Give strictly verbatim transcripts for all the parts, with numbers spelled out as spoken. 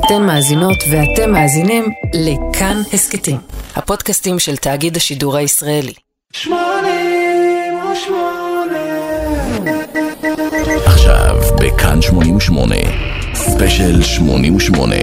אתן מאזינות ואתם מאזינים לכאן הסקטים, הפודקאסטים של תאגיד השידור הישראלי. שמונים ושמונה עכשיו בכאן שמונים ושמונה, ספיישל שמונים ושמונה.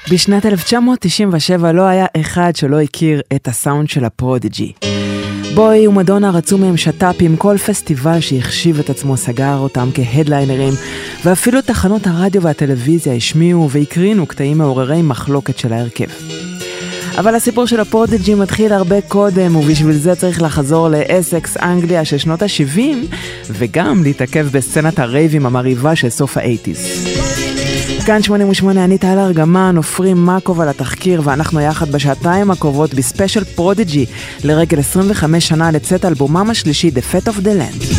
בשנת אלף תשע מאות תשעים ושבע לא היה אחד שלא הכיר את הסאונד של הפרודיג'י. בוי ומדונה רצו מהם שטאפים, כל פסטיבל שהחשיב את עצמו סגר אותם כהדליינרים, ואפילו תחנות הרדיו והטלוויזיה השמיעו והקרינו קטעים מעוררי מחלוקת של ההרכב. אבל הסיפור של הפרודיג'י מתחיל הרבה קודם, ובשביל זה צריך לחזור לאסקס, אנגליה של שנות ה-שבעים, וגם להתעכב בסצנת הרייבים המריבה של סוף ה-שמונים. כאן שמונים ושמונה, אני טל ארגמן, עופרים מקוב על התחקיר, ואנחנו יחד בשעתיים הקרובות בספיישל פרודיג'י לרגל עשרים וחמש שנה לצאת אלבומם השלישי, The Fate of the Land.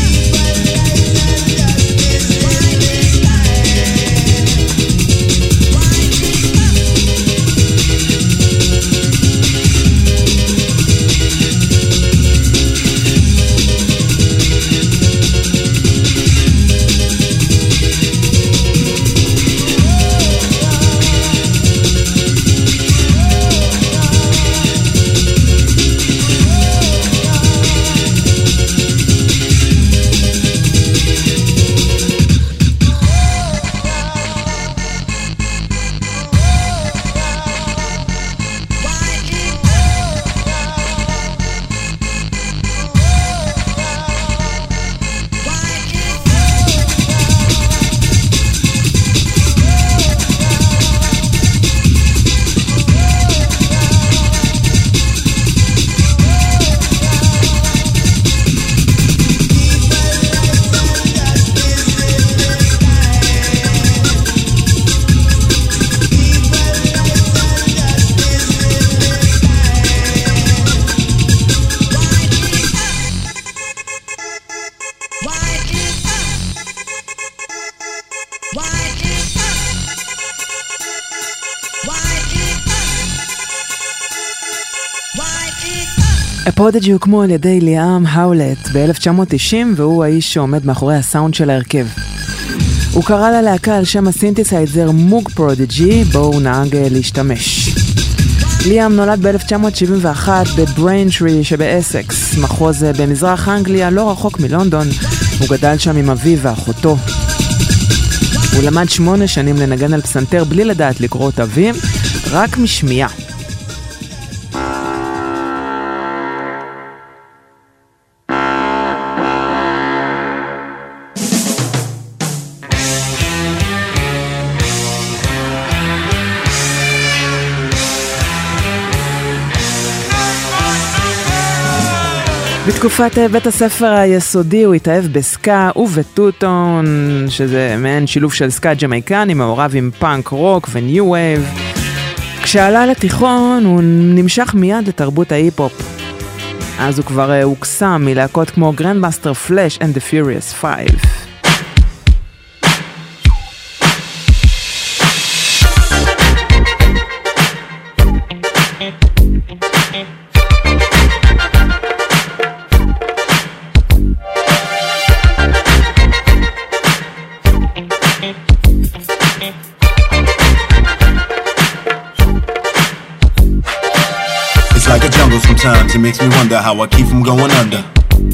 הפרודיג'י הוקמו על ידי ליאם האולט ב-אלף תשע מאות תשעים, והוא האיש שעומד מאחורי הסאונד של ההרכב. הוא קרא ללהקה על שם הסינתסייזר מוג פרודיג'י, בו הוא נהג להשתמש. ליאם נולד ב-אלף תשע מאות שבעים ואחת בבריינטרי שבאסקס, מחוז במזרח אנגליה, לא רחוק מלונדון. הוא גדל שם עם אביו ואחותו. הוא למד שמונה שנים לנגן על פסנתר בלי לדעת לקרוא את אביו, רק משמיעה. בתקופת בית הספר היסודי הוא התאהב בסקה ובטוטון, שזה מעין שילוב של סקה ג'מייקני מעורב עם פאנק רוק וניו וייב. כשעלה לתיכון הוא נמשך מיד לתרבות ההיפ-הופ. אז הוא כבר הוקסם מלהקות כמו גרנדמאסטר פלאש and the Furious Five. Like a jungle sometimes, it makes me wonder how I keep from going under.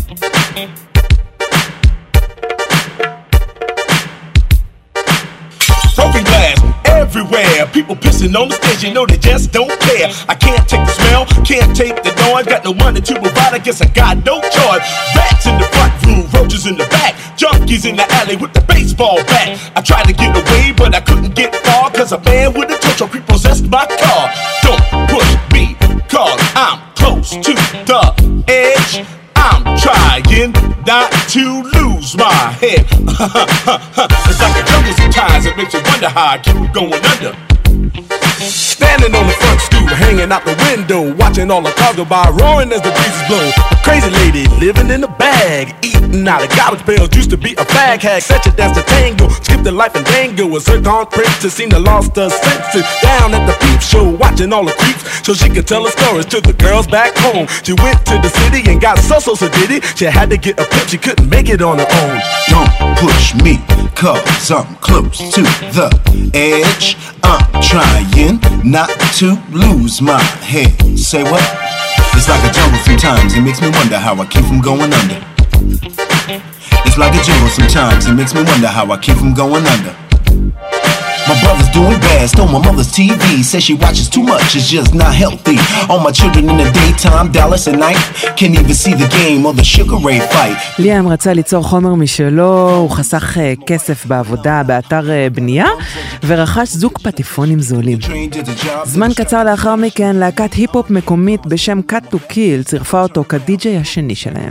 Broken glass everywhere, people pissing on the stage, you know they just don't care. I can't take the smell, can't take the noise, got no money to provide, I guess I got no choice. Rats in the front room, roaches in the back, junkies in the alley with the baseball bat. I tried to get away, but I couldn't get far, cause a man with a tow truck repossessed my car. Don't push me, cause I'm close to the edge. I'm trying not to lose my head. It's like a jungle sometimes, it makes you wonder how I keep going under. Standing on the front stoop, hanging out the window, watching all the cars go by, roaring as the breezes blow. A crazy lady living in a bag, eating out of garbage pails, used to be a fag hag, such a dance to tango, skipped the life and dango, a zircon princess, seen her lost her senses, down at the peep show, watching all the creeps, so she could tell her stories to the girls back home. She went to the city and got so so so did it, she had to get a pimp, she couldn't make it on her own. Don't push me, cause I'm close to the edge. I'm trying not to lose my head. Say what? It's like a jungle sometimes, it makes me wonder how I keep from going under. It's like a jungle sometimes, it makes me wonder how I keep from going under. My brother's doing bad, stole my mother's T V. Says she watches too much, it's just not healthy. All my children in the daytime, Dallas at night. Can't even see the game or the Sugar Ray fight. ליאם רצה ליצור חומר משלו, הוא חסך כסף בעבודה באתר בנייה, ורכש זוג פטיפונים זולים. זמן קצר לאחר מכן, להקת היפ-הופ מקומית בשם Cut to Kill צירפה אותו כדי-ג'יי השני שלהם.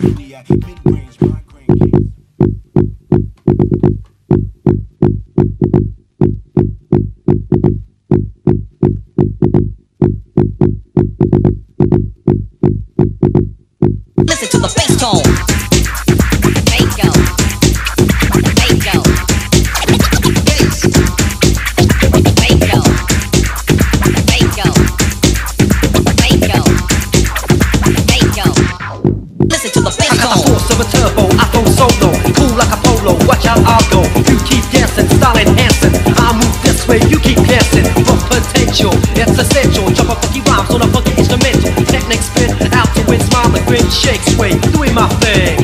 Listen to the bass tone. Bingo. Bingo. Bass. Bingo. Bingo. Bingo. Bingo. Listen to the bass tone. I got the force of a turbo, I flow solo, cool like a polo. Watch out, I'll go. You keep dancing, style enhancing. I move this way, you keep dancing. For potential, it's essential. Jump up funky rhymes on a funky instrumental. Technique spin out to win, smile and grin, shake, sway, doing my thing.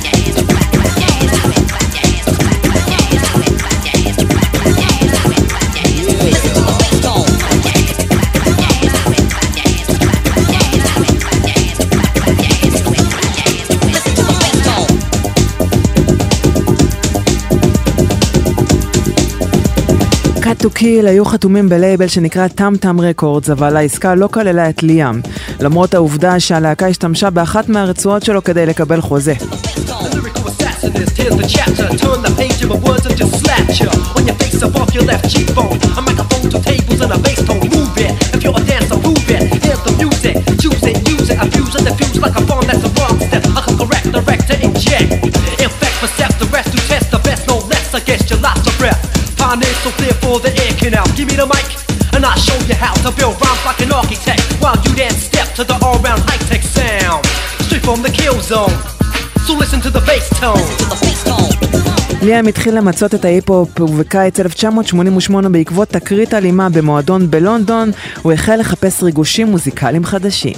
Cut to Kill היו חתומים בלייבל שנקרא טאם טאם רקורדס, אבל העסקה לא כללה את ליאם, למרות העובדה שהלהקה השתמשה באחת מהרצועות שלו כדי לקבל חוזה. So clear for the air canal. Give me the mic and I'll show you how to build rhymes like an architect, while you then step to the all-round high-tech sound straight from the kill zone. So listen to the bass tone. ליאם התחיל למצות את ההיפ-הופ, ובקיץ אלף תשע מאות שמונים ושמונה בעקבות תקרית אלימה במועדון בלונדון הוא החל לחפש ריגושים מוזיקליים חדשים.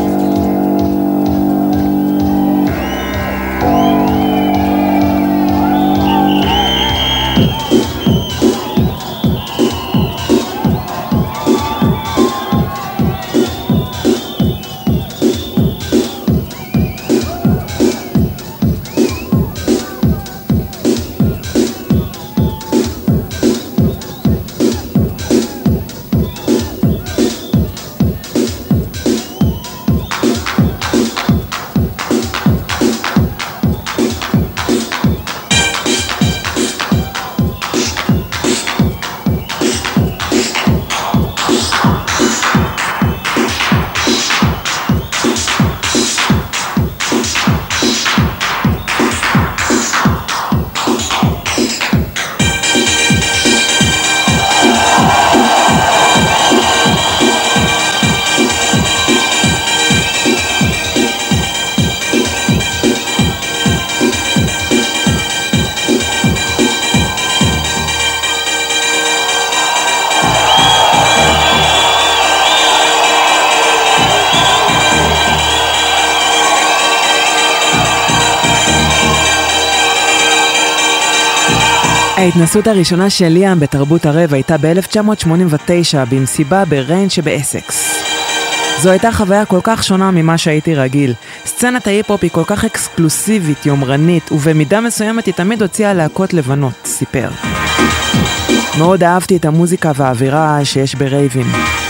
ההתנסות הראשונה של ליאם בתרבות הרב הייתה ב-אלף תשע מאות שמונים ותשע במסיבה בריין שבאסקס. זו הייתה חוויה כל כך שונה ממה שהייתי רגיל. סצנת ההיפ-הופ היא כל כך אקסקלוסיבית, יומרנית, ובמידה מסוימת היא תמיד הוציאה להקות לבנות, סיפר. מאוד אהבתי את המוזיקה והאווירה שיש ברייבים.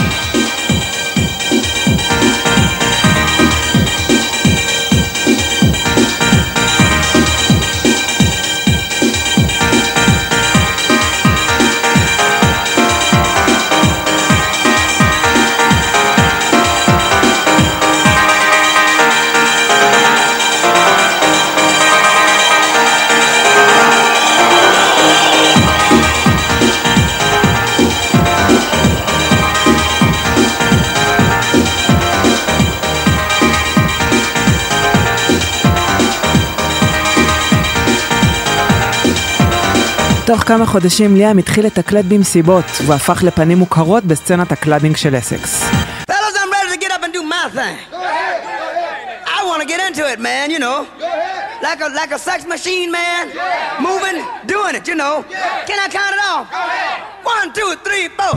תוך כמה חודשים ליאם התחיל לתקלט במסיבות, והפך לפנים מוכרות בסצנת הקלאבינג של אסקס. Fellas, I'm ready to get up and do my thing. Go ahead, go ahead. I want to get into it, man, you know. Go ahead. Like a like a sex machine, man. Yeah. Moving, doing it, you know. Yeah. Can I count it off? Go ahead. One, two, three, four.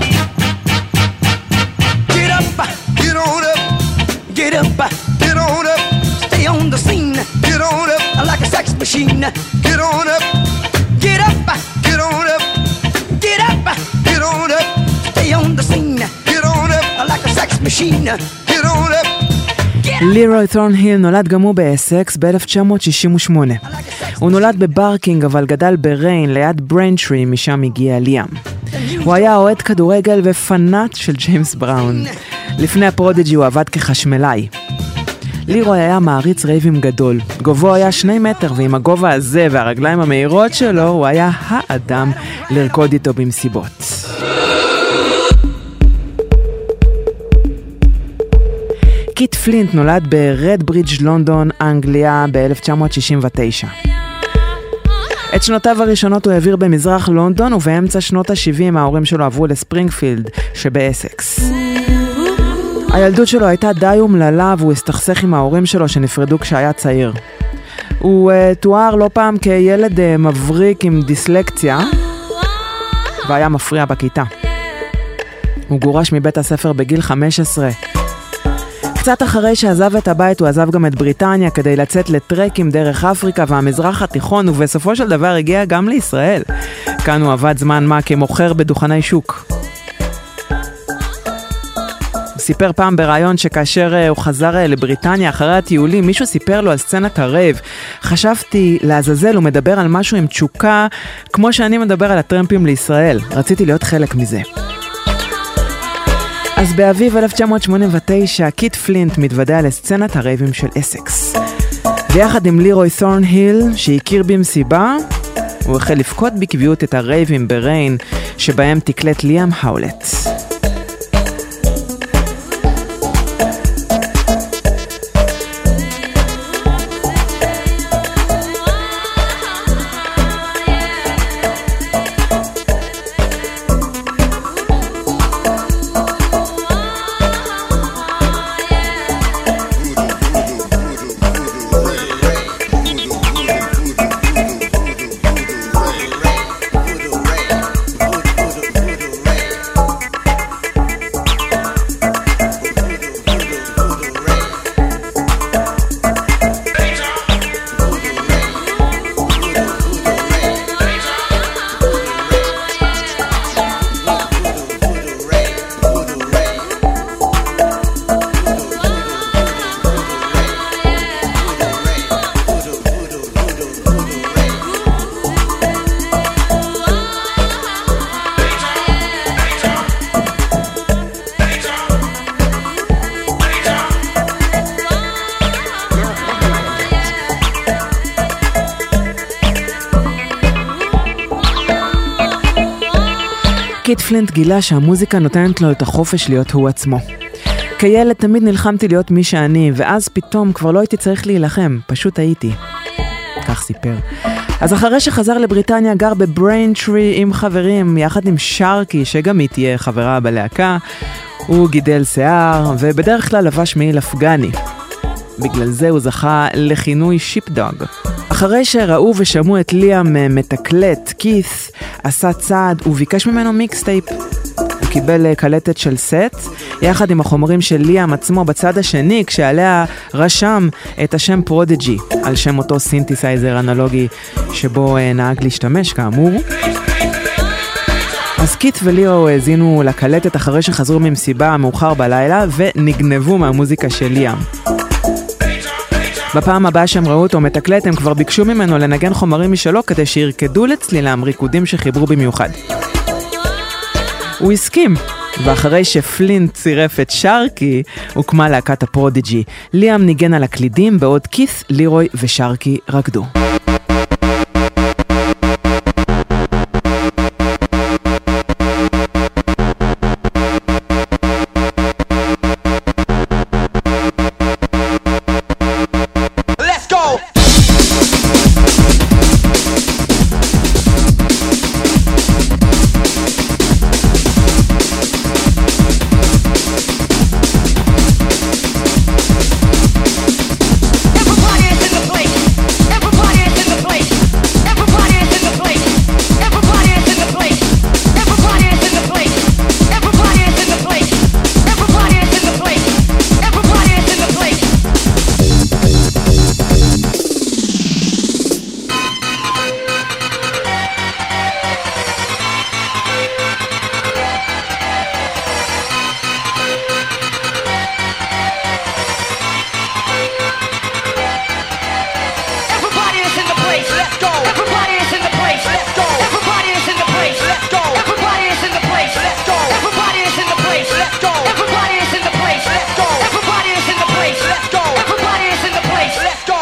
Get up, get on up, get up, get on up. Stay on the scene, get on up, like a sex machine. Get on up, get up, get on up, get up, get on up. Stay on the scene, get on up, like a sex machine. Get on up. לירוי תורנהיל נולד גם הוא באסקס ב-אלף תשע מאות שישים ושמונה. הוא נולד בברקינג אבל גדל בריין ליד ברנטרי, משם הגיע ליאם. הוא היה אוהד כדורגל ופנאט של ג'יימס בראון. לפני הפרודיג'י הוא עבד כחשמלאי. לירוי היה מעריץ רייבים גדול. גובהו היה שני מטר, ועם הגובה הזה והרגליים המהירות שלו הוא היה האדם לרקוד איתו במסיבות. קית' פלינט נולד ברדברידג' לונדון, אנגליה, ב-אלף תשע מאות שישים ותשע. את שנותיו הראשונות הוא העביר במזרח לונדון, ובאמצע שנות ה-שבעים ההורים שלו עברו לספרינגפילד שבאסקס. הילדות שלו הייתה די אומללה, והוא הסתכסך עם ההורים שלו שנפרדו כשהיה צעיר. הוא uh, תואר לא פעם כילד uh, מבריק עם דיסלקציה, והיה מפריע בכיתה. הוא גורש מבית הספר בגיל חמש עשרה. קצת אחרי שעזב את הבית הוא עזב גם את בריטניה כדי לצאת לטרקים דרך אפריקה והמזרח התיכון, ובסופו של דבר הגיע גם לישראל. כאן הוא עבד זמן מה כמוכר בדוכני שוק. הוא סיפר פעם ברעיון שכאשר הוא חזר לבריטניה אחרי הטיולים, מישהו סיפר לו על סצנת הרייב. חשבתי לעזאזל, הוא מדבר על משהו עם תשוקה כמו שאני מדבר על הטרמפים לישראל. רציתי להיות חלק מזה. אז באביב אלף תשע מאות שמונים ותשע, קית' פלינט מתוודע לסצנת הרייבים של אסקס. ויחד עם לירוי תורנהיל, שהכיר במסיבה, הוא החל לפקוד בקביעות את הרייבים בריין, שבהם תקלט ליאם האולט. קית' פלינט גילה שהמוזיקה נותנת לו את החופש להיות הוא עצמו. כילד תמיד נלחמתי להיות מי שאני, ואז פתאום כבר לא הייתי צריך להילחם, פשוט הייתי. כך סיפר. אז אחרי שחזר לבריטניה גר בבריינטרי עם חברים, יחד עם שרקי, שגם היא תהיה חברה בלהקה. הוא גידל שיער, ובדרך כלל לבש מעיל אפגני. בגלל זה הוא זכה לכינוי שיפדוג. אחרי שראו ושמעו את ליאם מתקלט, קית' עשה צעד וביקש ממנו מיקסטייפ. הוא קיבל קלטת של סט, יחד עם החומרים של ליאם עצמו בצד השני, כשעליה רשם את השם פרודיג'י, על שם אותו סינתסייזר אנלוגי שבו נהג להשתמש כאמור. אז קית' וליאו הזינו לקלטת אחרי שחזרו ממסיבה מאוחר בלילה, ונגנבו מהמוזיקה של ליאם. בפעם הבאה שהם ראו אותו מתקלט, הם כבר ביקשו ממנו לנגן חומרים משלו כדי שירקדו לצלילם ריקודים שחיברו במיוחד. הוא הסכים, ואחרי שפלינט צירף את שרקי, הוקמה להקת הפרודיג'י. ליאם ניגן על הקלידים, בעוד קית', לירוי ושרקי רקדו. Everybody place, let's go. Everybody is in the place, let's go. Everybody is in the place, let's go. Everybody is in the place, let's go. Everybody is in the place, let's go. Everybody is in the place, let's go. Everybody is in the place, let's go. Everybody is in the place, let's go.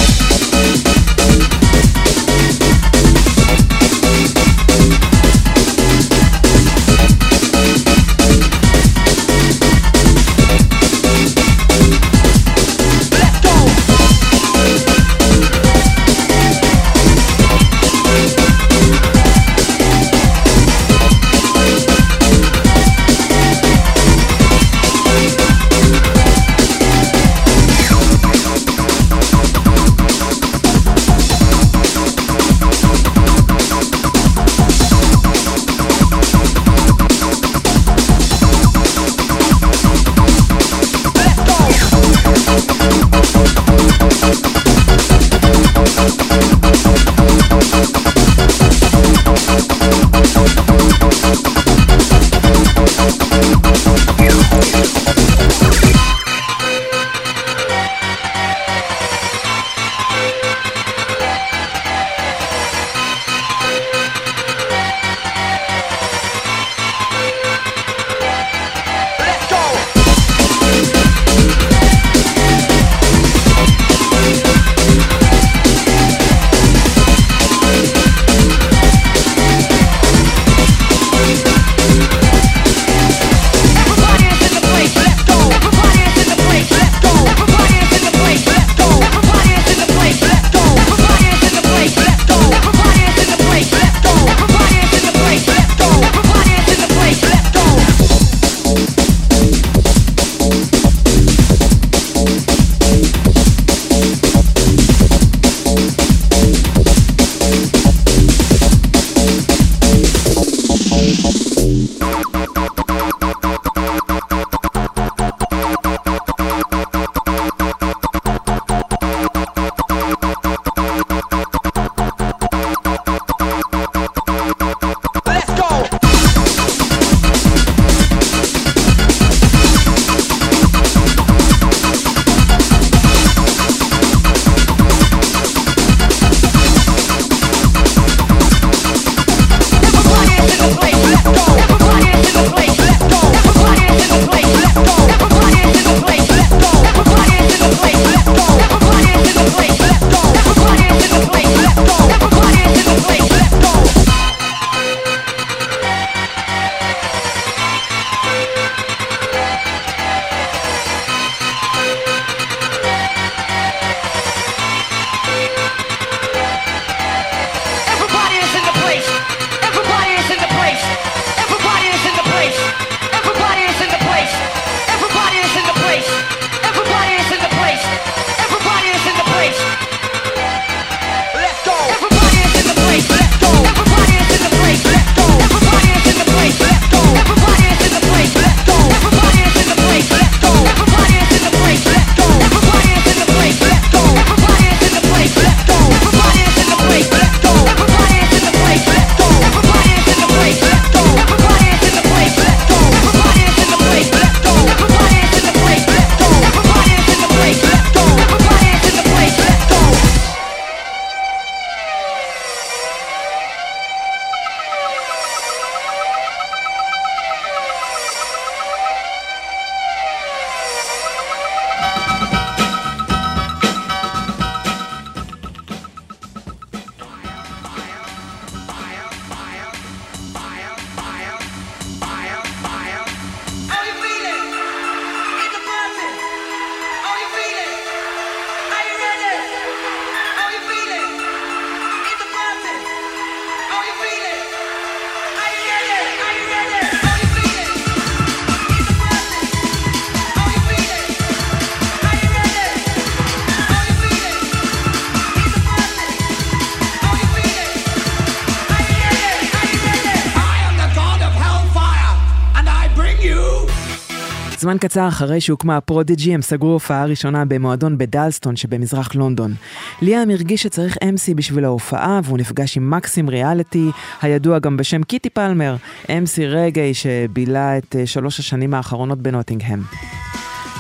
זמן קצר אחרי שהוקמה הפרודיג'י, הם סגרו הופעה ראשונה במועדון בדלסטון שבמזרח לונדון. ליאם הרגיש שצריך אם סי בשביל ההופעה, והוא נפגש עם מקסים ריאליטי, הידוע גם בשם קיטי פלמר, אם סי רגעי שבילה את שלוש השנים האחרונות בנוטינגהם.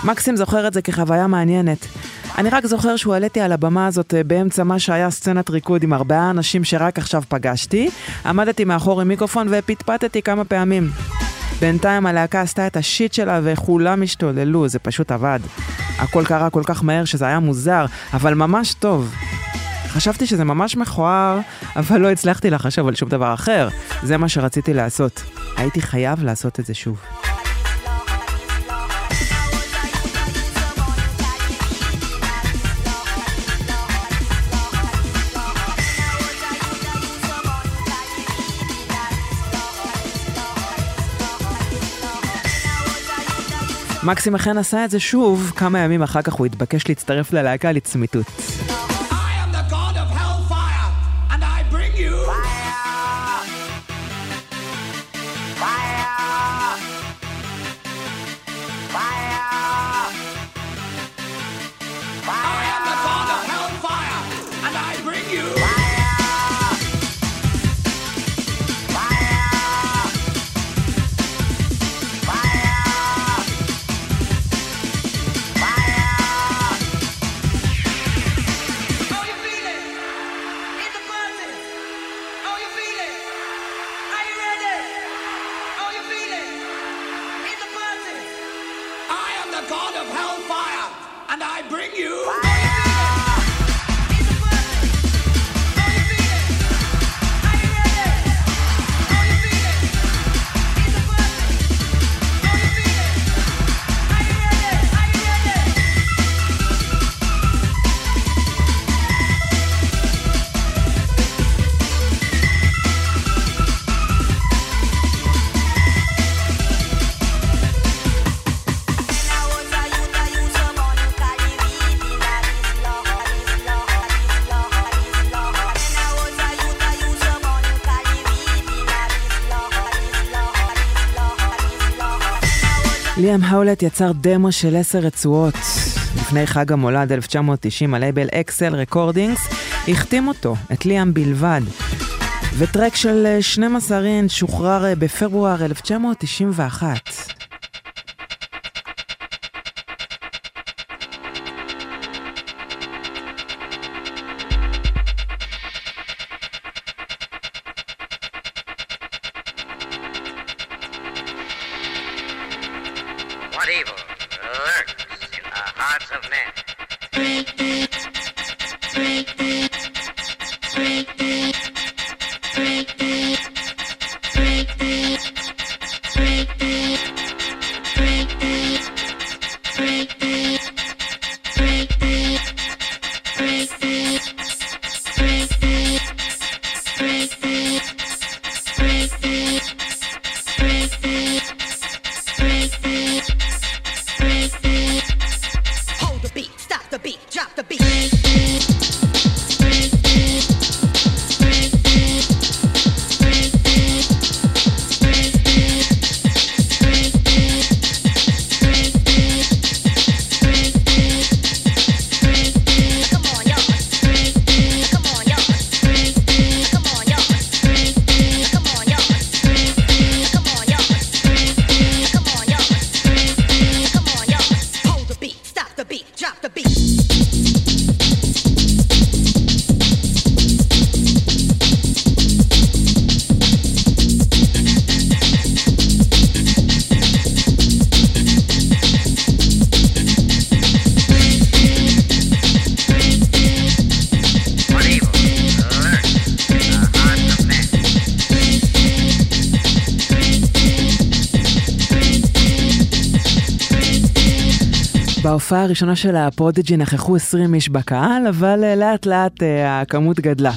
מקסים זוכר את זה כחוויה מעניינת. אני רק זוכר שהוא עליתי על הבמה הזאת באמצע מה שהיה סצנת ריקוד עם ארבעה אנשים שרק עכשיו פגשתי, עמדתי מאחור עם מיקרופון ופטפטתי כמה פעמים. בינתיים הלהקה עשתה את השיט שלה וכולם השתוללו, זה פשוט עבד. הכל קרה כל כך מהר שזה היה מוזר, אבל ממש טוב. חשבתי שזה ממש מכוער, אבל לא הצלחתי לחשוב על שום דבר אחר. זה מה שרציתי לעשות. הייתי חייב לעשות את זה שוב. מקסים אכן עשה את זה שוב, כמה ימים אחר כך הוא התבקש להצטרף ללהקה לצמיתות. ליאם האולט יצר דמו של עשר רצועות. לפני חג המולד אלף תשע מאות תשעים הלייבל אקסל רקורדינגס החתים אותו, את ליאם בלבד. וטרק של שנים עשר אינץ' שוחרר בפברואר אלף תשע מאות תשעים ואחת. בהופעה הראשונה של הפרודיג'י נכחו עשרים איש בקהל, אבל לאט לאט הכמות גדלה.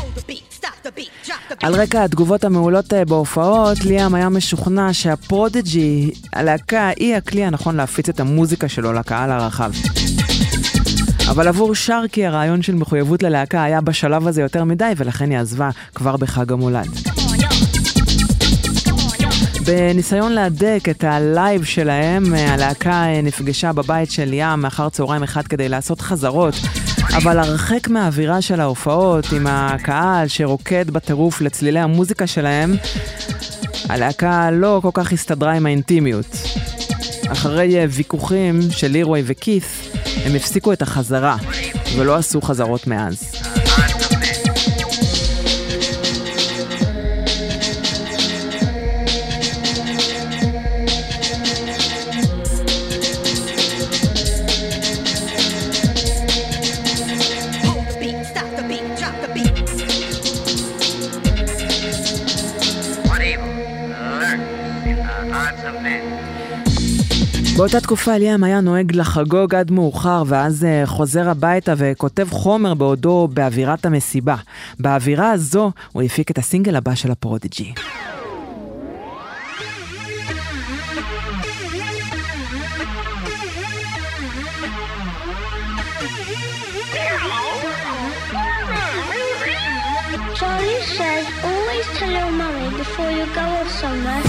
על רקע התגובות המעולות בהופעות, ליאם היה משוכנע שהפרודיג'י, הלהקה, היא הכלי הנכון להפיץ את המוזיקה שלו לקהל הרחב. אבל עבור שרקי הרעיון של מחויבות ללהקה היה בשלב הזה יותר מדי, ולכן היא עזבה כבר בחג המולד. בניסיון להדק את הלייב שלהם, הלהקה נפגשה בבית של ליאם מאחר צהריים אחד כדי לעשות חזרות, אבל הרחק מהאווירה של ההופעות עם הקהל שרוקד בטירוף לצלילי המוזיקה שלהם, הלהקה לא כל כך הסתדרה עם האינטימיות. אחרי ויכוחים של לירוי וכית' הם הפסיקו את החזרה, ולא עשו חזרות מאז. באותה תקופה ליאם היה נוהג לחגוג עד מאוחר, ואז חוזר הביתה וכותב חומר בעודו באווירת המסיבה. באווירה הזו הוא הפיק את הסינגל הבא של הפרודיג'י. Charlie says always tell your mummy before you go off somewhere.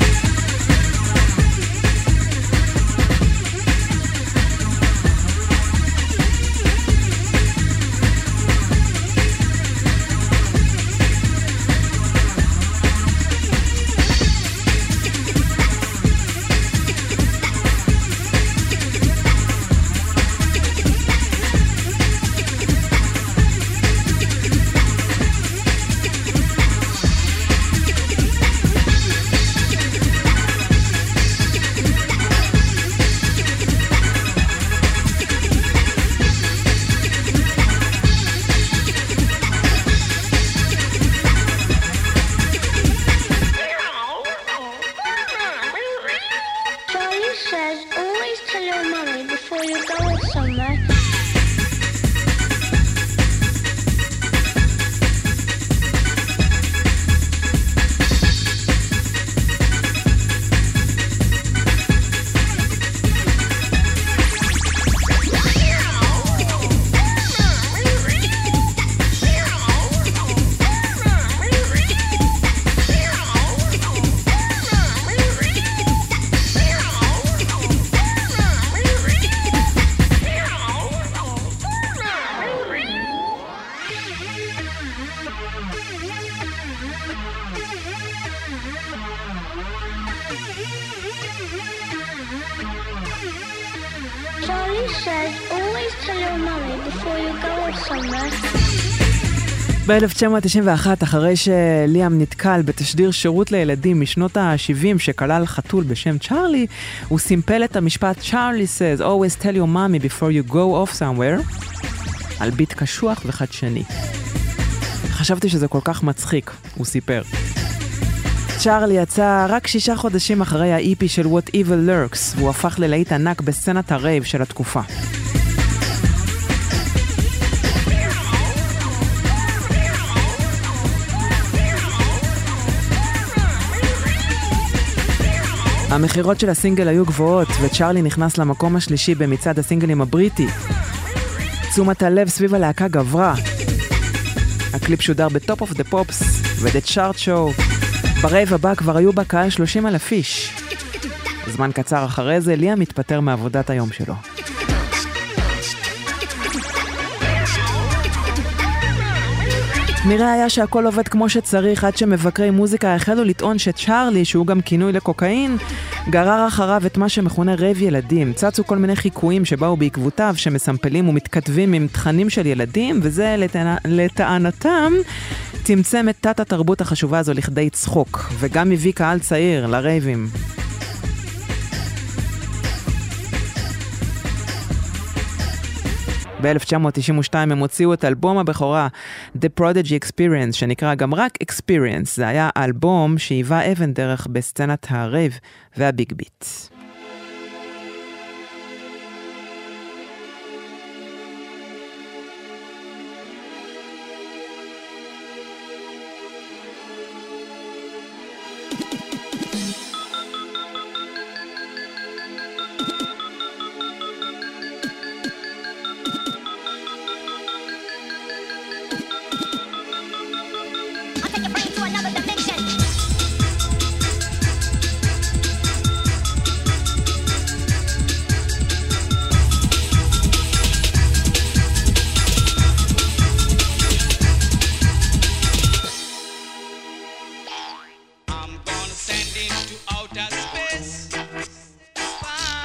ב-אלף תשע מאות תשעים ואחת, אחרי שליאם נתקל בתשדיר שירות לילדים משנות ה-שבעים שכלל חתול בשם צ'ארלי, הוא סימפל את המשפט Charlie says always tell your mommy before you go off somewhere על ביט קשוח וחדשני. חשבתי שזה כל כך מצחיק, הוא סיפר. צ'ארלי יצא רק שישה חודשים אחרי ה-אי פי של What Evil Lurks, והוא הפך ללהיט ענק בסצנת הרייב של התקופה. המחירות של הסינגל היו גבוהות, וצ'ארלי נכנס למקום השלישי במצעד הסינגלים הבריטי. תשומת הלב סביב הלהקה גברה. הקליפ שודר בטופ אוף דה פופס ודה צ'ארט שואו. ברייב הבא כבר היו בקהל שלושים אלף איש. זמן קצר אחרי זה ליאם מתפטר מעבודת היום שלו. נראה היה שהכל עובד כמו שצריך עד שמבקרי מוזיקה החלו לטעון שצ'ארלי, שהוא גם כינוי לקוקאין, גרר אחריו את מה שמכונה רייב ילדים. צצו כל מיני חיקויים שבאו בעקבותיו שמסמפלים ומתכתבים עם תכנים של ילדים, וזה לטענ... לטענתם צמצם את תת התרבות החשובה הזו לכדי צחוק, וגם הביא קהל צעיר לרייבים. ב-אלף תשע מאות תשעים ושתיים הם הוציאו את אלבום הבכורה The Prodigy Experience, שנקרא גם רק Experience. זה היה אלבום שהיווה אבן דרך בסצנת הרייב והביג ביט. Send into outer space.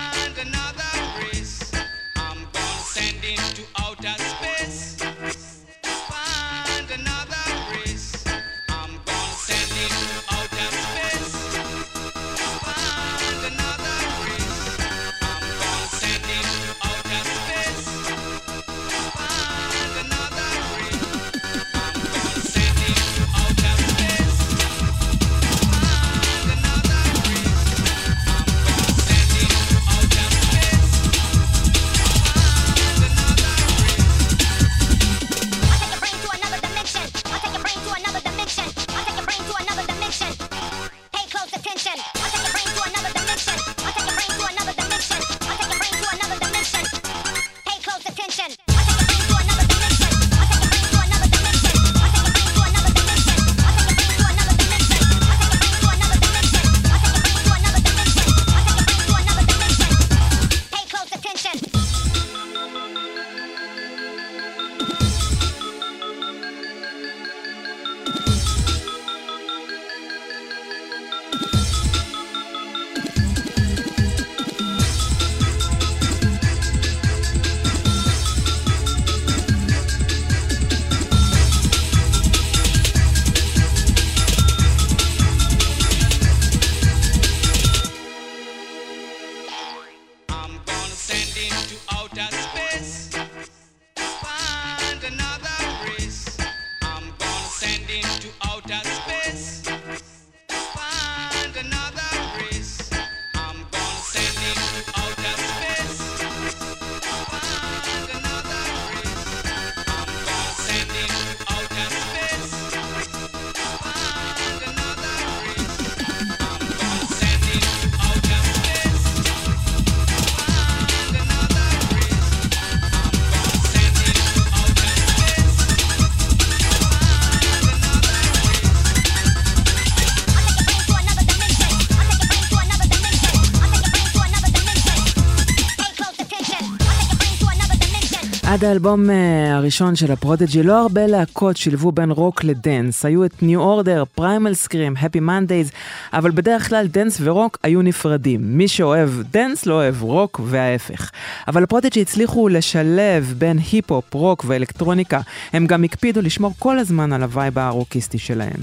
עד האלבום הראשון של הפרודיג'י לא הרבה להקות שילבו בין רוק לדנס. היו את ניו אורדר, פריימל סקרים, הפי מנדייז, אבל בדרך כלל דנס ורוק היו נפרדים. מי שאוהב דנס לא אוהב רוק וההפך. אבל הפרודיג'י הצליחו לשלב בין היפ-הופ, רוק ואלקטרוניקה. הם גם הקפידו לשמור כל הזמן על הווייב הרוקיסטי שלהם.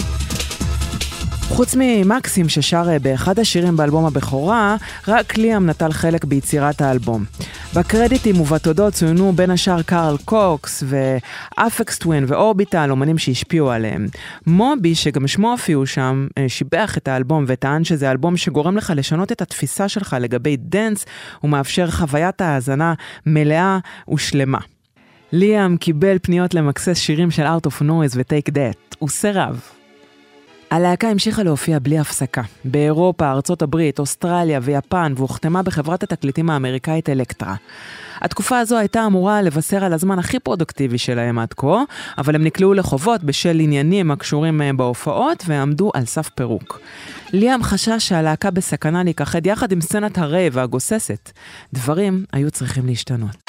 חוץ ממקסים ששר באחד השירים באלבום הבכורה, רק ליאם נטל חלק ביצירת האלבום. בקרדיטים ובתודות צוינו בין השאר קארל קוקס ואפקס טווין ואורביטל, אומנים שהשפיעו עליהם. מובי, שגם שמו הופיעו שם, שיבח את האלבום וטען שזה אלבום שגורם לך לשנות את התפיסה שלך לגבי דנס, ומאפשר חוויית האזנה מלאה ושלמה. ליאם קיבל פניות למקסס שירים של Art of Noise ו-Take That. הוא סירב. הלהקה המשיכה להופיע בלי הפסקה. באירופה, ארצות הברית, אוסטרליה ויפן, והוחתמה בחברת התקליטים האמריקאית אלקטרה. התקופה הזו הייתה אמורה לבשר על הזמן הכי פרודוקטיבי שלהם עד כה, אבל הם נקלעו לחובות בשל עניינים הקשורים בהופעות ועמדו על סף פירוק. ליאם חשש שהלהקה בסכנה להיכחד יחד עם סצנת הרייב והגוססת. דברים היו צריכים להשתנות.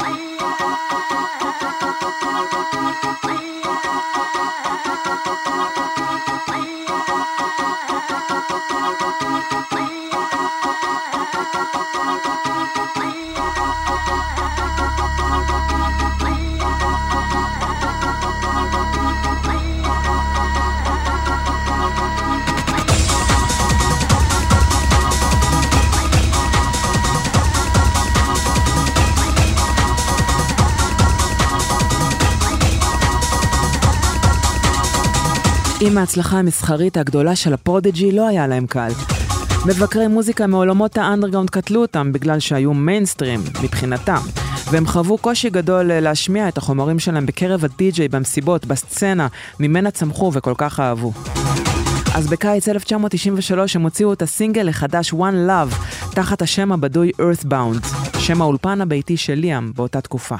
עם ההצלחה המסחרית הגדולה של הפרודיג'י לא היה להם קל. מבקרי מוזיקה מעולמות האנדרגאונד קטלו אותם בגלל שהיו מיינסטרים מבחינתם, והם חוו קושי גדול להשמיע את החומרים שלהם בקרב הדי-ג'יי במסיבות, בסצנה, ממנה צמחו וכל כך אהבו. אז בקיץ אלף תשע מאות תשעים ושלוש הם הוציאו את הסינגל החדש One Love תחת השם הבדוי Earthbound, שם האולפן הביתי של ליאם באותה תקופה.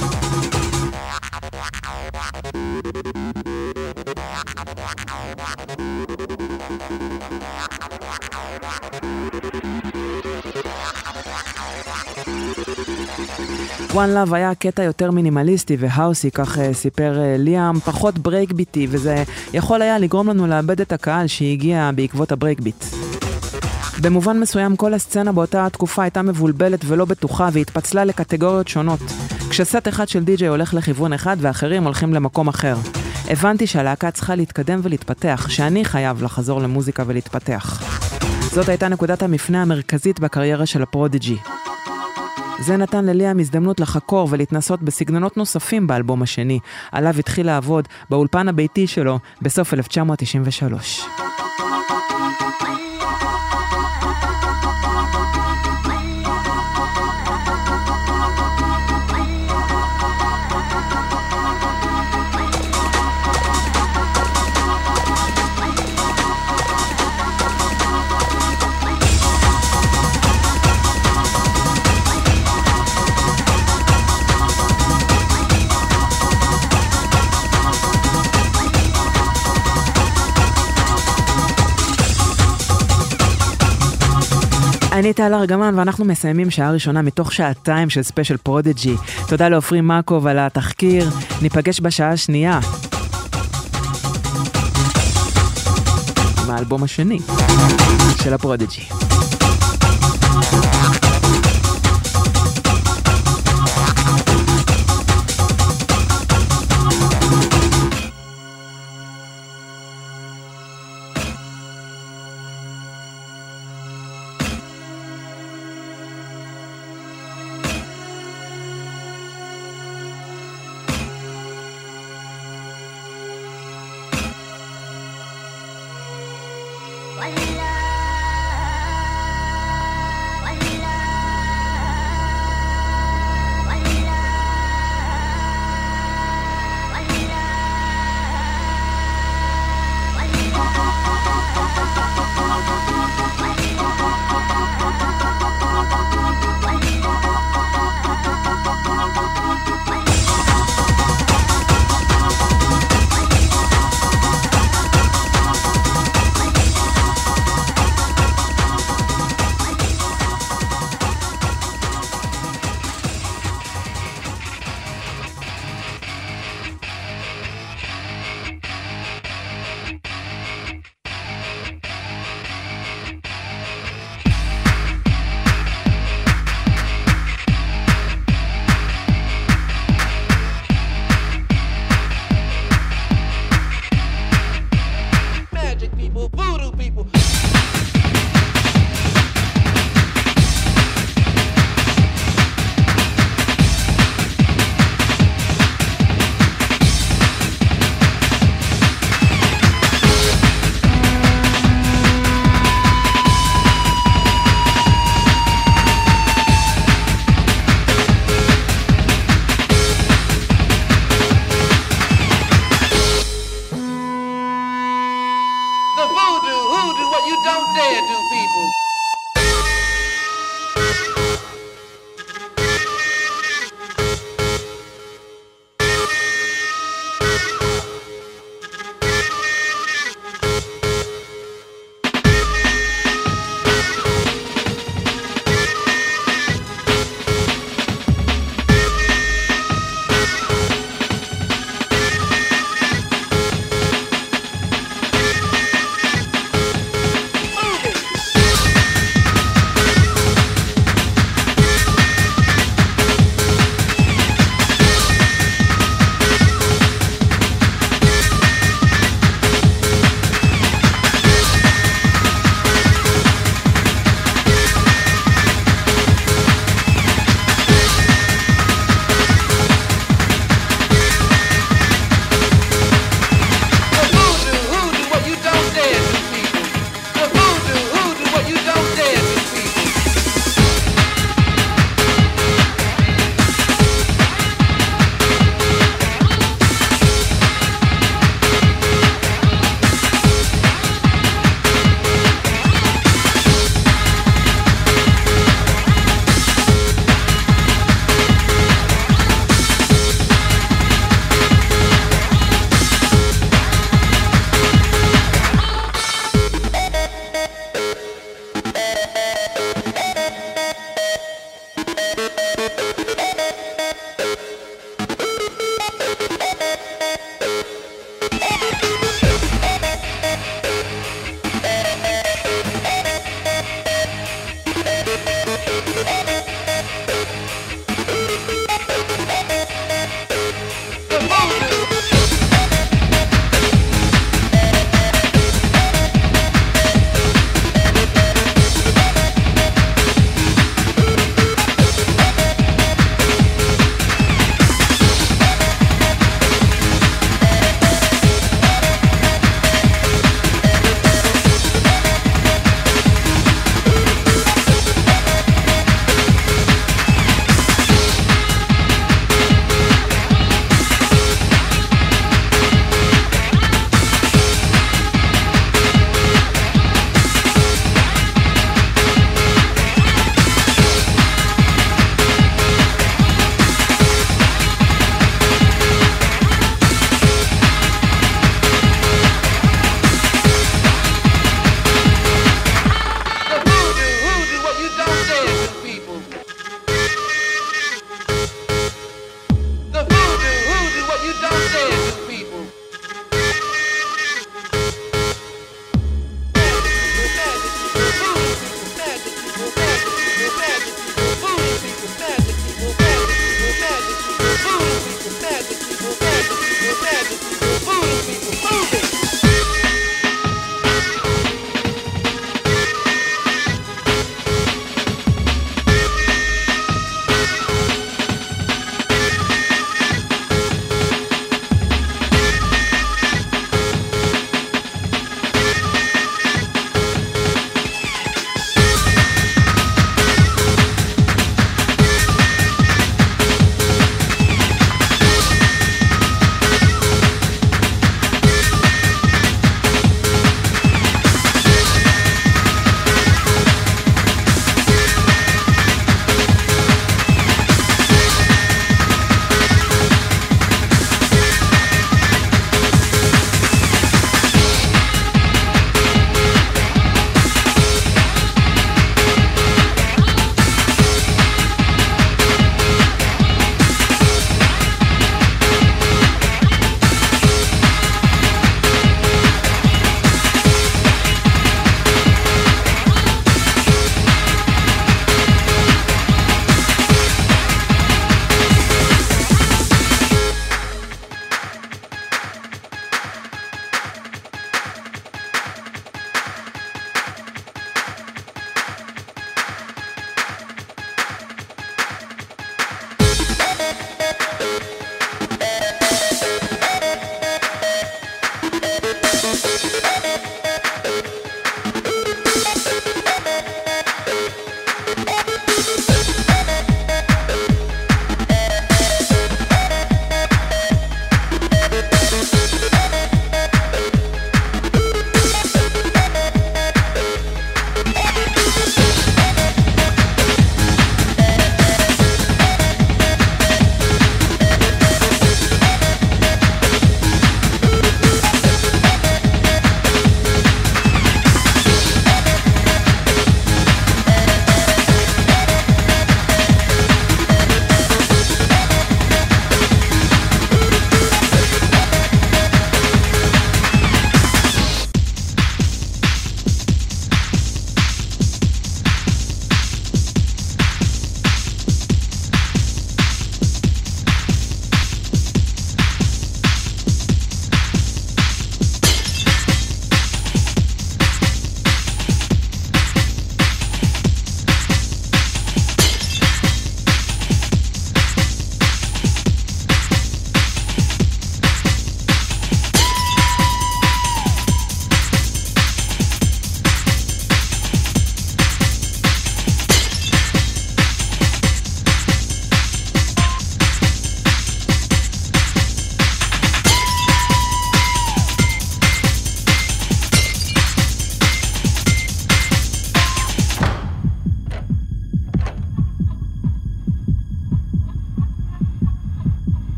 One Love היה קטע יותר מינימליסטי והאוסי, כך סיפר ליאם, פחות ברייק-ביטי, וזה יכול היה לגרום לנו לאבד את הקהל שהגיע בעקבות הברייק-ביט. במובן מסוים כל הסצנה באותה תקופה הייתה מבולבלת ולא בטוחה והתפצלה לקטגוריות שונות. כשסט אחד של די-ג'יי הולך לכיוון אחד ואחרים הולכים למקום אחר. הבנתי שהלהקה צריכה להתקדם ולהתפתח, שאני חייב לחזור למוזיקה ולהתפתח. זאת הייתה נקודת המפנה המרכזית בקריירה של הפרודיג'י. זה נתן לליאם הזדמנות לחקור ולהתנסות בסגנונות נוספים באלבום השני, עליו התחיל לעבוד באולפן הביתי שלו בסוף אלף תשע מאות תשעים ושלוש. אני טל ארגמן ואנחנו מסיימים שעה ראשונה מתוך שעתיים של ספיישל פרודיג'י. תודה לאופרי מקוב על התחקיר, ניפגש בשעה השנייה עם האלבום השני של הפרודיג'י.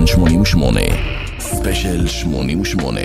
שמונים ושמונה, ספיישל שמונים ושמונה.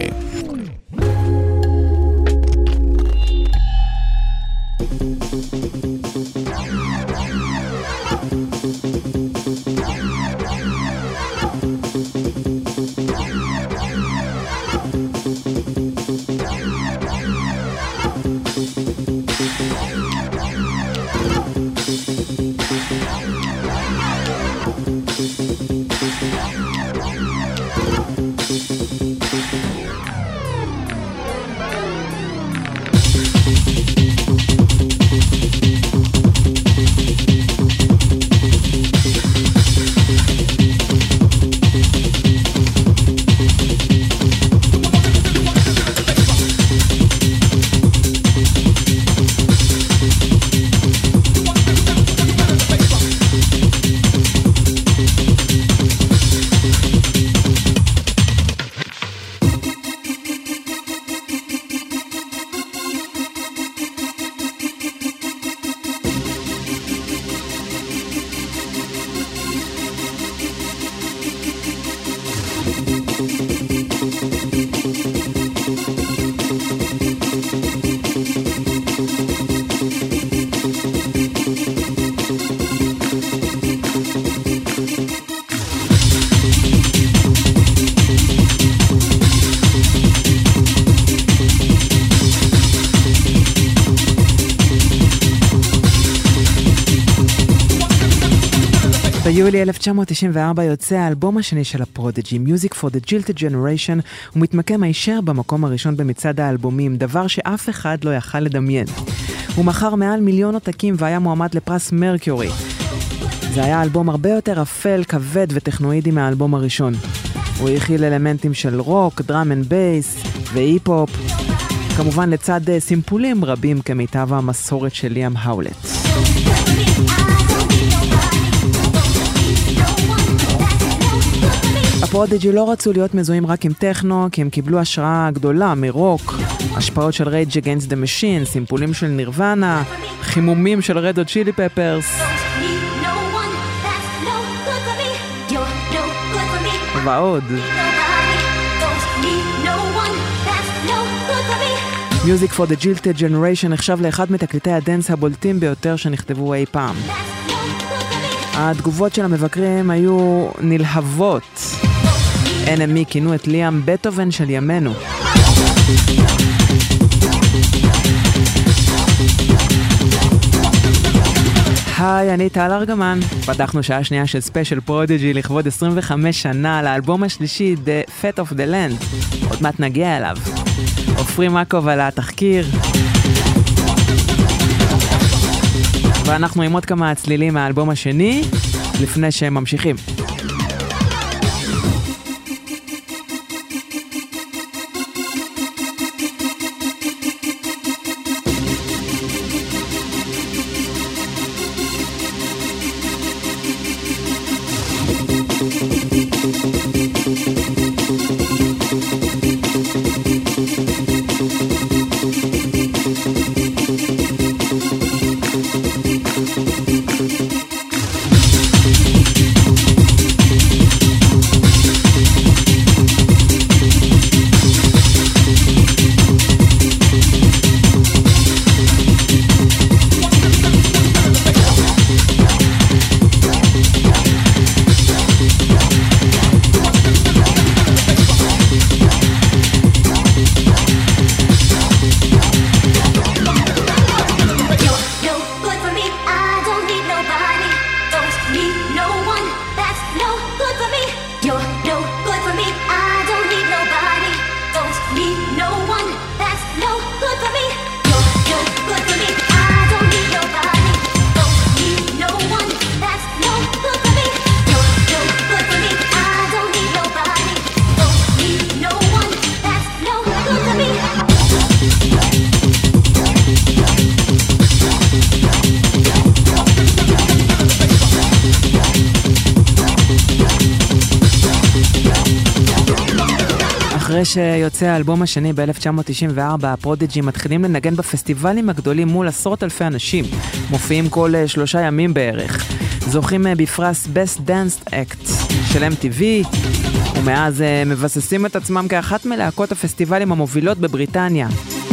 ביולי אלף תשע מאות תשעים וארבע יוצא האלבום השני של הפרודיג'י, Music for the Jilted Generation, ומתמקם הישר במקום הראשון במצעד האלבומים, דבר שאף אחד לא יכל לדמיין. הוא מכר מעל מיליון עותקים והיה מועמד לפרס מרקיורי. זה היה אלבום הרבה יותר אפל, כבד וטכנואידי מהאלבום הראשון. הוא הכיל אלמנטים של רוק, דראם אנד בייס והיפ-הופ, כמובן לצד סימפולים רבים כמיטב המסורת של ליאם האולט. הפרודיג'י לא רצו להיות מזוהים רק עם טכנו, כי הם קיבלו השראה גדולה מרוק, השפעות של Rage Against the Machine, סימפולים של נירוונה, חימומים של Red Hot Chili Peppers ועוד. Music for the Jilted Generation נחשב לאחד מתקליטי הדנס הבולטים ביותר שנכתבו אי פעם. התגובות של המבקרים היו נלהבות. אן אם אי כינו את ליאם בטהובן של ימינו. היי, אני טל ארגמן. פתחנו שעה שנייה של ספיישל פרודיג'י לכבוד עשרים וחמש שנה לאלבום השלישי The Fate of the Land. עוד מעט נגיע אליו. עופרי מקוב על התחקיר. ואנחנו עם עוד כמה צלילים מהאלבום השני לפני שהם ממשיכים. אחרי שיוצא האלבום השני ב-אלף תשע מאות תשעים וארבע, הפרודיג'י מתחילים לנגן בפסטיבלים הגדולים מול עשרות אלפי אנשים. מופיעים כל שלושה ימים בערך. זוכים בפרס Best Dance Act של אם טי וי, ומאז הם מבססים את עצמם כאחת מלהקות הפסטיבלים המובילות בבריטניה.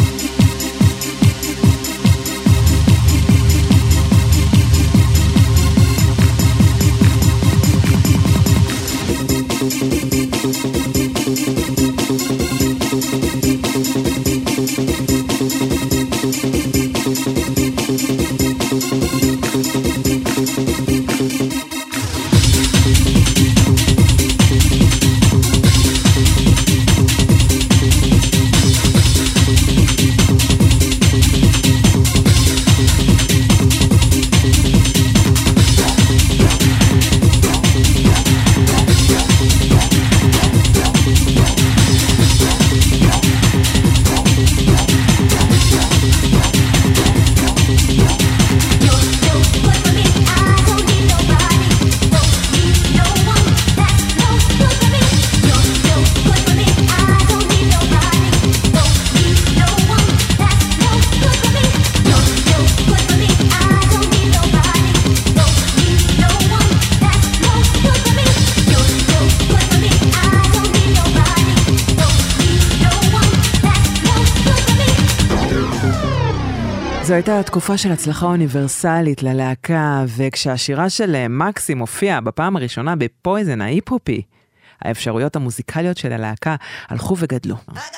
זו הייתה תקופה של הצלחה אוניברסלית ללהקה, וכשהשירה של מקסים הופיעה בפעם הראשונה בפויזן ההיפ-הופי, האפשרויות המוזיקליות של הלהקה הלכו וגדלו.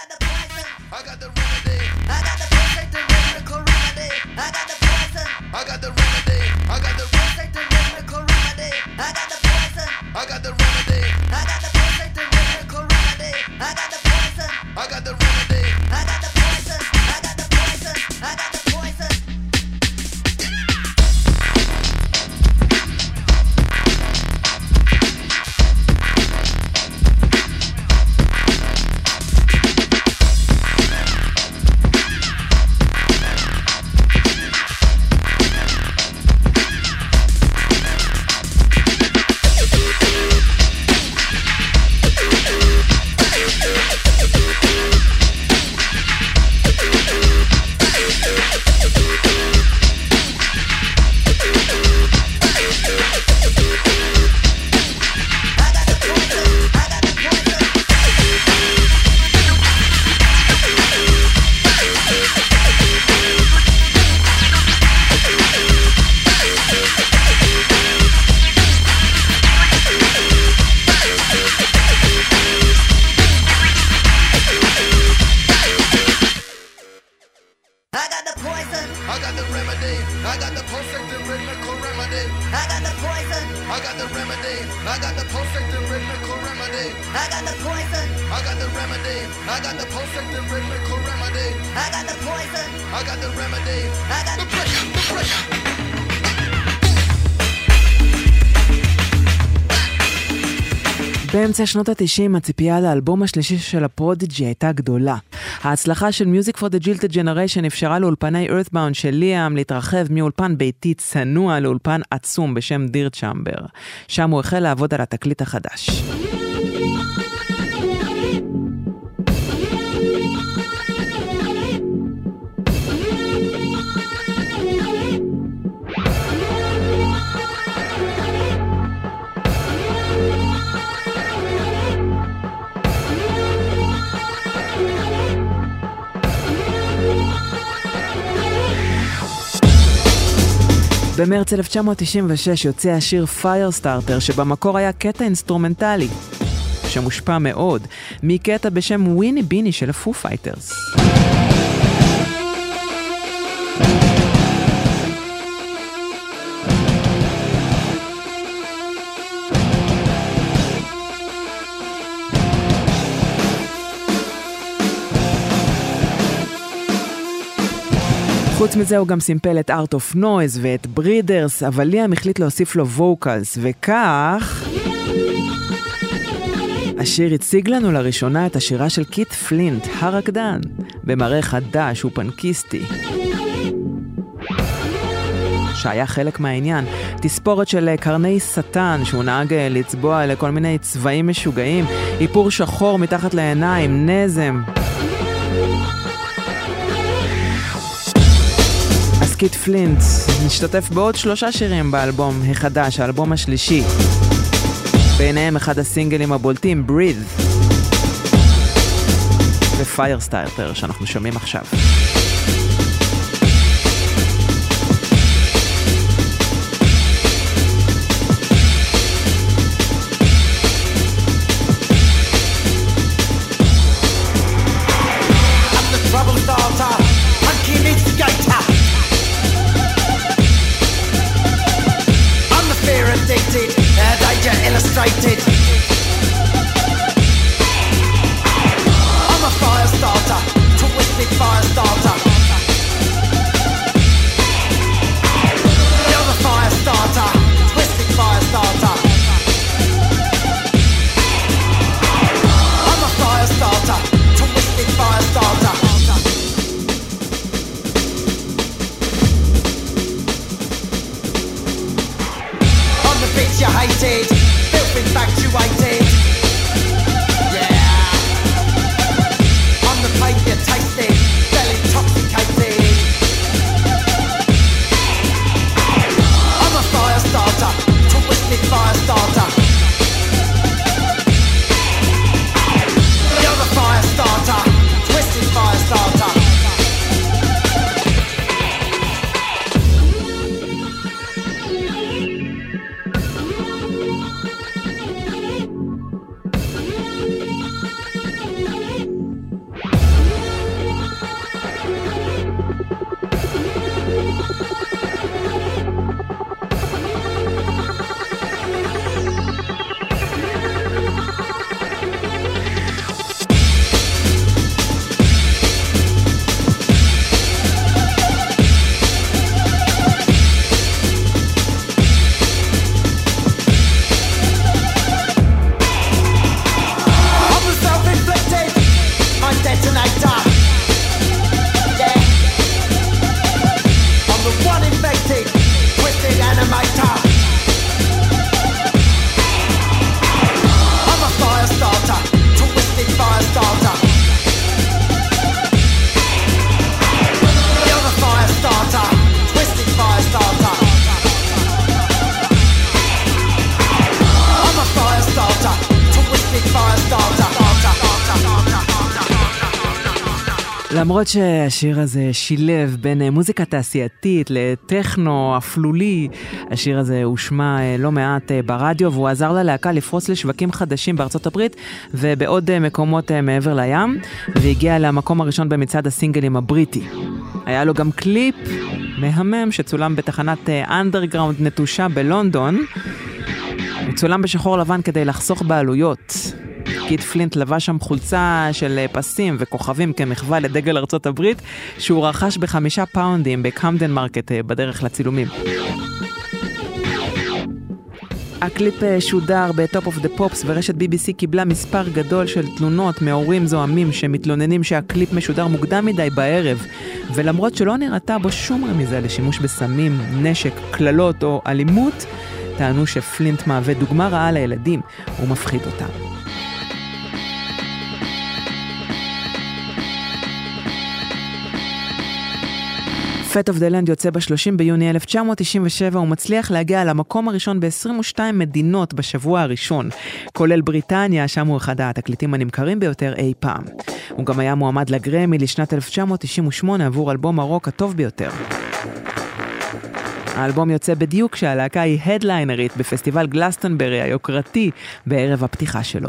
באמצע שנות ה-תשעים הציפייה לאלבום השלישי של הפרודיג'י הייתה גדולה. ההצלחה של Music for the Jilted Generation אפשרה לאולפני Earthbound של ליאם להתרחב מאולפן ביתי צנוע לאולפן עצום בשם דיר צ'מבר. שם הוא החל לעבוד על התקליט החדש. במרץ אלף תשע מאות תשעים ושש יוצא השיר Firestarter, שבמקור היה קטע אינסטרומנטלי, שמושפע מאוד מקטע בשם וויני ביני של הפו פייטרס. חוץ מזה הוא גם סימפל את Art of Noise ואת Breeders, אבל ליאם החליט להוסיף לו ווקלס, וכך השיר הציג לנו לראשונה את השירה של קית' פלינט, הרקדן, במראה חדש ופנקיסטי, שהיה חלק מהעניין. תספורת של קרני סטן שהוא נהג לצבוע לכל מיני צבעים משוגעים, איפור שחור מתחת לעיניים, נזם. אז קית' פלינט נשתתף בעוד שלושה שירים באלבום החדש, האלבום השלישי. ביניהם אחד הסינגלים הבולטים, Breathe, ו-Firestarter שאנחנו שומעים עכשיו. Trouble starter, monkey instigator. I'm the fear addicted, uh, danger illustrated. I'm a fire starter, twisted fire starter. You're the fire starter, twisted fire starter. I'm a fire starter, twisted fire starter. Bitch you hated, filth infatuated. Yeah, I'm the pain you tasted, fell intoxicated. I'm a fire starter, twisted fire starter. You're the fire starter, twisted fire starter. למרות שהשיר הזה שילב בין מוזיקה תעשייתית לטכנו אפלולי, השיר הזה הושמע לא מעט ברדיו, והוא עזר ללהקה לפרוץ לשווקים חדשים בארצות הברית ובעוד מקומות מעבר לים, והגיע למקום הראשון במצעד הסינגלים הבריטי. היה לו גם קליפ מהמם שצולם בתחנת אנדרגראונד נטושה בלונדון. הוא צולם בשחור לבן כדי לחסוך בעלויות. קיט פלינט לבש שם חולצה של פסים וכוכבים כמחווה לדגל ארצות הברית, שהוא רכש בחמישה פאונדים בקמדן מרקט בדרך לצילומים. הקליפ שודר בטופ אוף דה פופס, ורשת בי בי סי קיבלה מספר גדול של תלונות מהורים זוהמים שמתלוננים שהקליפ משודר מוקדם מדי בערב, ולמרות שלא נראתה בו שום רמיזה לשימוש בסמים, נשק, כללות או אלימות, טענו שפלינט מהווה דוגמה רעה לילדים ומפחיד אותם. Fate of the Land יוצא ב-שלושים ביוני אלף תשע מאות תשעים ושבע ומצליח להגיע למקום הראשון ב-עשרים ושתיים מדינות בשבוע הראשון, כולל בריטניה, שם הוא אחד התקליטים הנמכרים ביותר אי פעם. הוא גם היה מועמד לגרמי לשנת אלף תשע מאות תשעים ושמונה עבור אלבום הרוק הטוב ביותר. האלבום יוצא בדיוק כשהלהקה היא הדליינרית בפסטיבל גלסטנברי היוקרתי בערב הפתיחה שלו.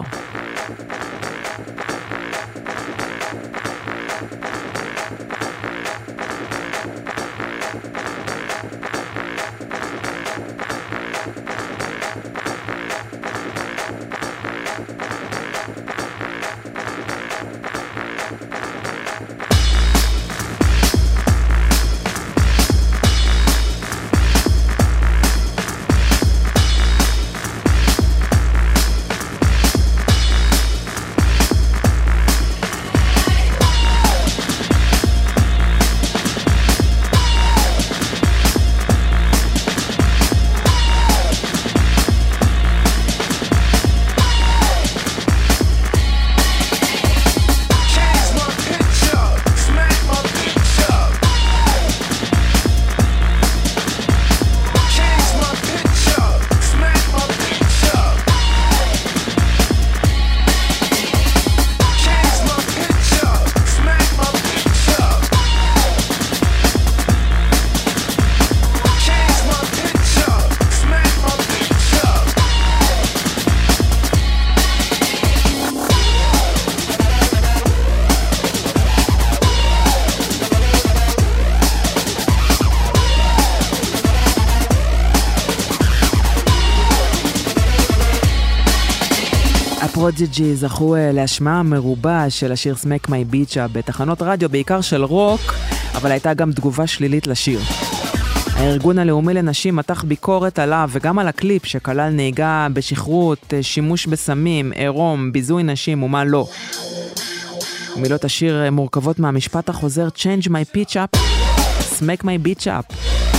הפרודיג'י זכו להשמעה מרובה של השיר Smack My Bitch Up בתחנות רדיו, בעיקר של רוק, אבל הייתה גם תגובה שלילית לשיר. הארגון הלאומי לנשים מתח ביקורת עליו וגם על הקליפ שכלל נהיגה בשכרות, שימוש בסמים, עירום, ביזוי נשים ומה לא. מילות השיר מורכבות מהמשפט החוזר Change My Pitch Up, Smack My Bitch Up.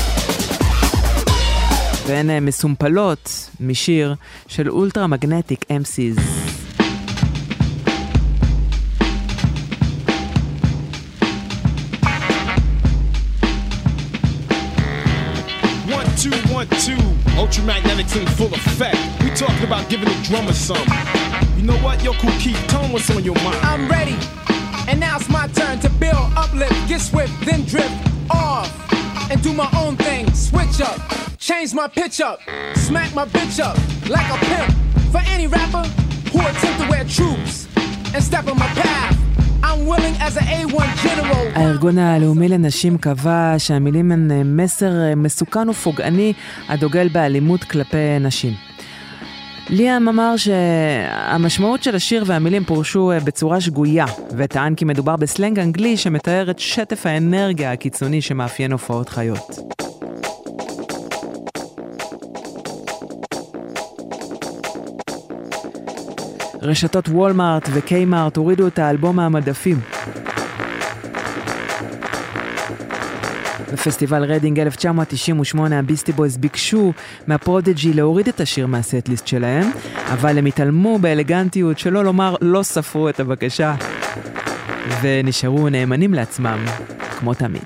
והן מסומפלות משיר של אולטרה מגנטיק אם סי'ז. Two, one, two, ultramagnetics in full effect. We talking about giving the drummer some. You know what, yo, Cool Keith, tell them what's on your mind. I'm ready, and now it's my turn to build, uplift, get swift, then drift off, and do my own thing. Switch up, change my pitch up, smack my bitch up like a pimp. For any rapper who attempt to wear troops and step on my path, I'm willing as an איי וואן general. הארגון הלאומי לנשים קבע שהמילים הן מסר מסוכן ופוגעני הדוגל באלימות כלפי נשים. ליאם אמר שהמשמעות של השיר והמילים פורשו בצורה שגויה, וטען כי מדובר בסלנג אנגלי שמתאר את שטף האנרגיה הקיצוני שמאפיין הופעות חיות. רשתות וולמארט וקיימארט הורידו את האלבום מהמדפים. בפסטיבל רדינג אלף תשע מאות תשעים ושמונה הביסטי בויז ביקשו מהפרודיג'י להוריד את השיר מהסט-ליסט שלהם, אבל הם התעלמו באלגנטיות שלא לומר לא ספרו את הבקשה ונשארו נאמנים לעצמם כמו תמיד.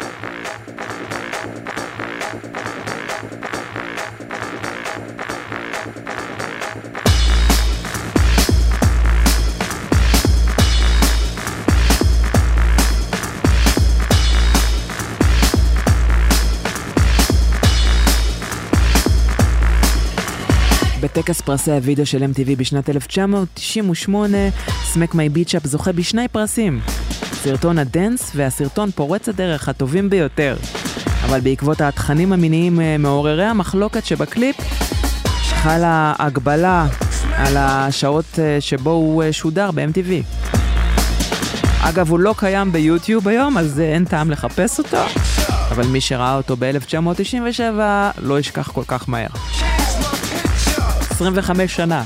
בטקס פרסי הוידאו של אם טי וי בשנת אלף תשע מאות תשעים ושמונה, Smack My Bitch Up זוכה בשני פרסים, סרטון הדנס והסרטון פורץ הדרך הטובים ביותר. אבל בעקבות התכנים המיניים מעוררי המחלוקת שבקליפ, חלה הגבלה על השעות שבו הוא שודר ב-אם טי וי. אגב, הוא לא קיים ביוטיוב היום, אז אין טעם לחפש אותו, אבל מי שראה אותו ב-אלף תשע מאות תשעים ושבע לא ישכח כל כך מהר. עשרים וחמש שנה.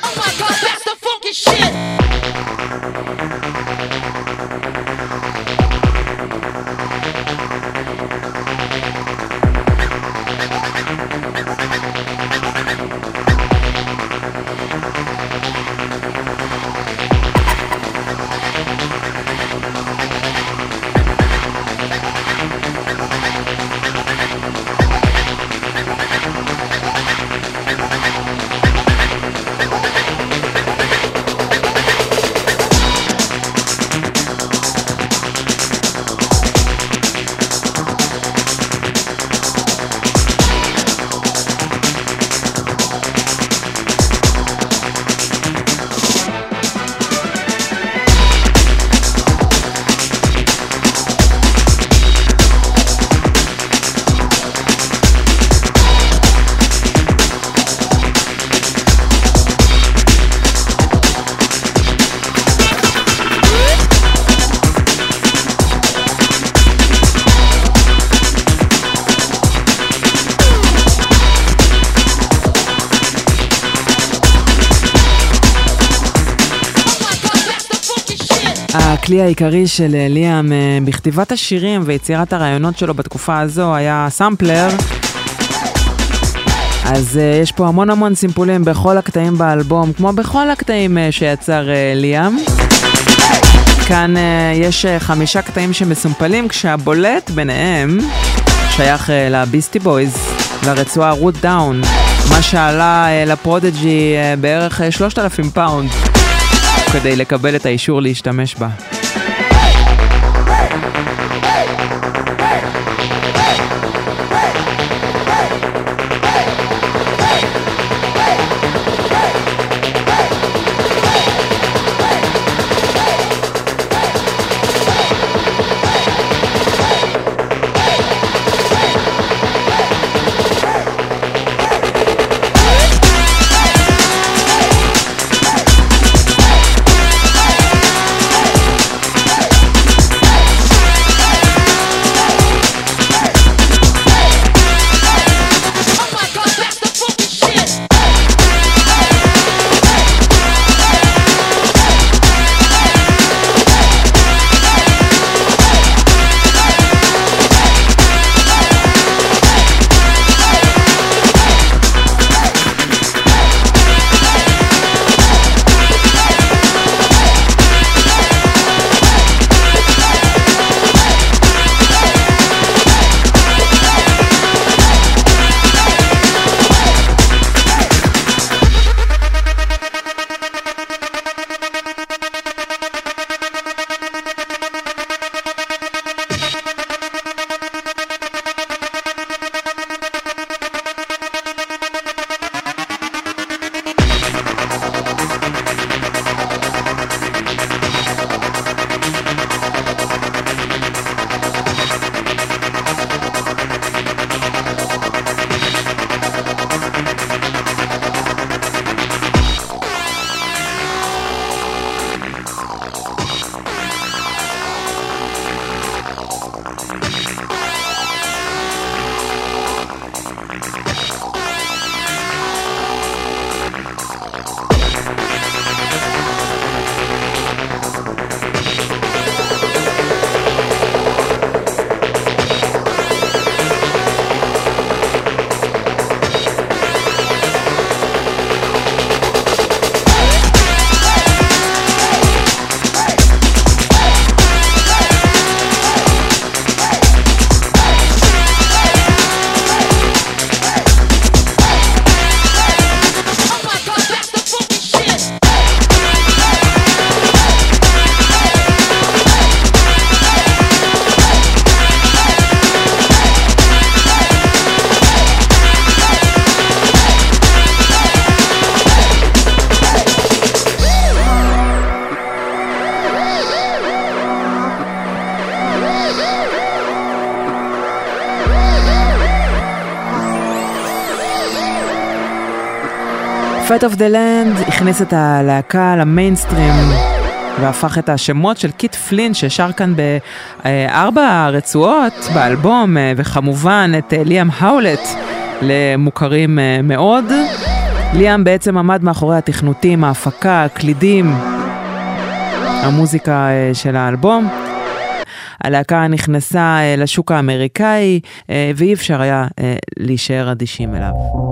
my God, that's the funky shit. הכלי העיקרי של ליאם בכתיבת השירים ויצירת הרעיונות שלו בתקופה הזו היה סמפלר. אז יש פה המון המון סימפולים בכל הקטעים באלבום, כמו בכל הקטעים שיצר ליאם. כאן יש חמישה קטעים שמסומפלים, כשהבולט ביניהם שייך לביסטי בויז, לרצועה רוט דאון, מה שעלה לפרודג'י בערך שלושת אלפים פאונד כדי לקבל את האישור להשתמש בה. Fate of the Land הכניס את הלהקה למיינסטרים והפך את השמות של קיט פלין ששר כאן בארבע רצועות באלבום, וכמובן את ליאם האולט למוכרים מאוד. ליאם בעצם עמד מאחורי התכנותים, ההפקה, הקלידים, המוזיקה של האלבום. הלהקה נכנסה לשוק האמריקאי, ואי אפשר היה להישאר אדישים אליו.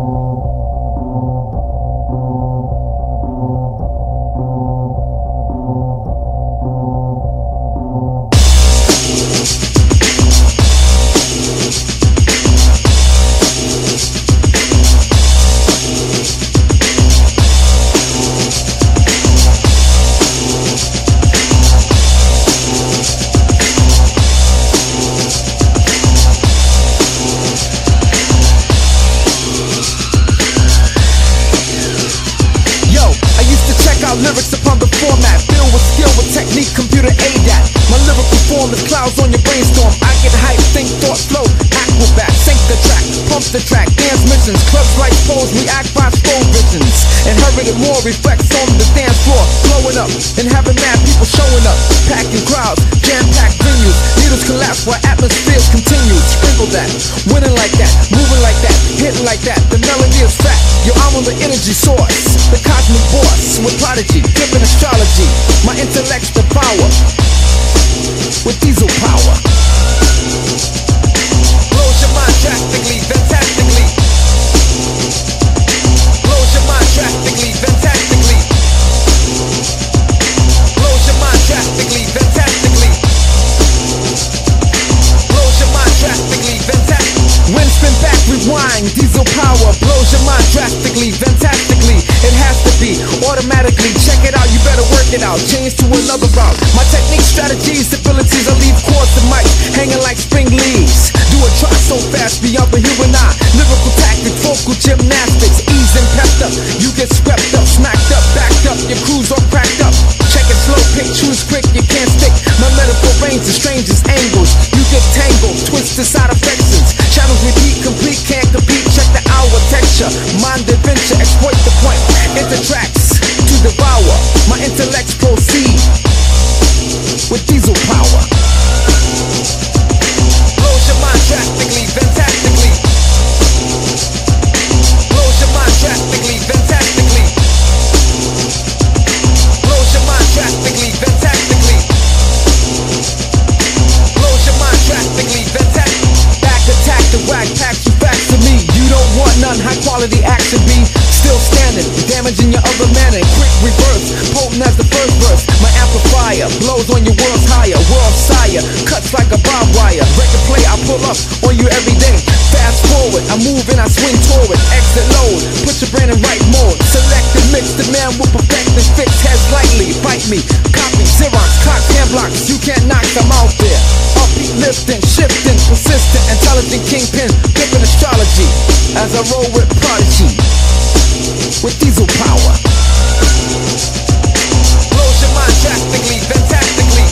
Lyrics upon the format, filled with skill with technique, computer aid at. My lyrical form is clouds on your brainstorm. I get hype, think, thought, flow, acrobat, sync the track, pump the track, dance missions, clubs like pose, react by slow visions. Inherited more reflects on the dance floor, blowing up and having mad people showing up, packing crowds, jam-packed venues, needles collapse while atmospheres continue. Sprinkle that, winning like that, moving like that, hitting like that. The melody is fat, yo, I'm on the energy source, the cosmic boss with prodigy, flipping astrology. My intellect's the power with diesel power. Blows your mind drastically, fantastically. Blows your mind drastically, fantastically. Blows your mind drastically, fantastically. Blows your mind drastically, fantastically. Wind spin back, rewind, diesel power. Blows your mind drastically, fantastically. It has to be automatically. Check it out, you better work it out. Change to another route. My technique, strategies, abilities, I leave chords to mic hanging like spring leaves. Do a try so fast beyond the human eye. Lyrical tactics, vocal gymnastics, ease and pepped up. You get swept up, smacked up, backed up. Your crew's all cracked up. Check it slow, pick, choose quick, you can't stick. My metaphor range the strangest angles. You get tangled, twisted side affections. Channels repeat, complete, can't compete. Check the hour texture, mind adventure, exploit the point. Enter tracks to devour. My intellects proceed with diesel power. Blows your mind drastically, fantastically. Blows your mind drastically, fantastically. Blows your mind drastically, fantastically. Blows your mind drastically, fantastically. Back attack the whack, pack you back to me. You don't want none, high quality action be still standing, damaging your other manner. Quick reverse, potent as the first verse. My amplifier blows on your world's higher, world sire, cuts like a barbed wire. Record play, I pull up on you every day. Fast forward, I move and I swing toward. Exit load, put your brain in right mode. Select and mix, the man will perfect and fix heads lightly. Bite me, copy, Xerox, clock, hand blocks. You can't knock them out there. Upbeat, lifting, shifting, persistent, intelligent kingpin, flipping astrology. As I roll with prodigy, with diesel power. Blows your mind drastically, fantastically.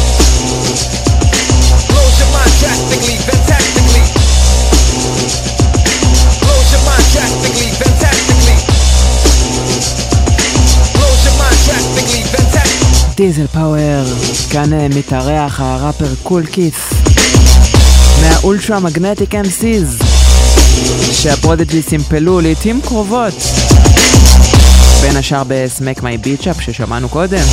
Blows your mind drastically, fantastically. Blows your mind drastically, fantastically. Blows your mind drastically, fantastically. דיזל פאוור, כאן מתארח הראפר קול קית' מהאולטרה מגנטיק אם סיז שהפרודג'י סימפלו לעתים קרובות, בין השאר בסמק מי ביצ'אפ ששמענו קודם,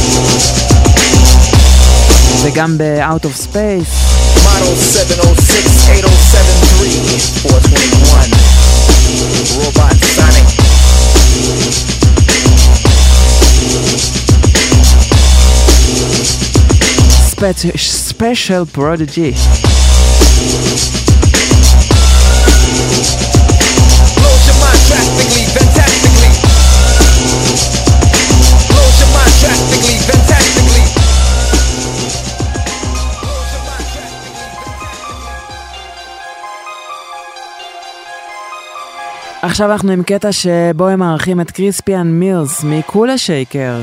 וגם ב-Out of Space. Model seven oh six eight oh seven three four twenty-one Robot Sonic. Special, special Prodigy. Blows your mind drastically, fantastically. Blows your mind drastically, fantastically. עכשיו אנחנו עם קטע שבו הם מערכים את קריספיאן מילס מקולה שייקר.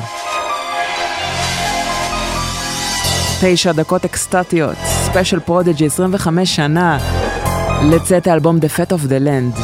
תשע דקות אקסטטיות, ספיישל פרודג'י, עשרים וחמש שנה לצאת האלבום The Fate of the Land.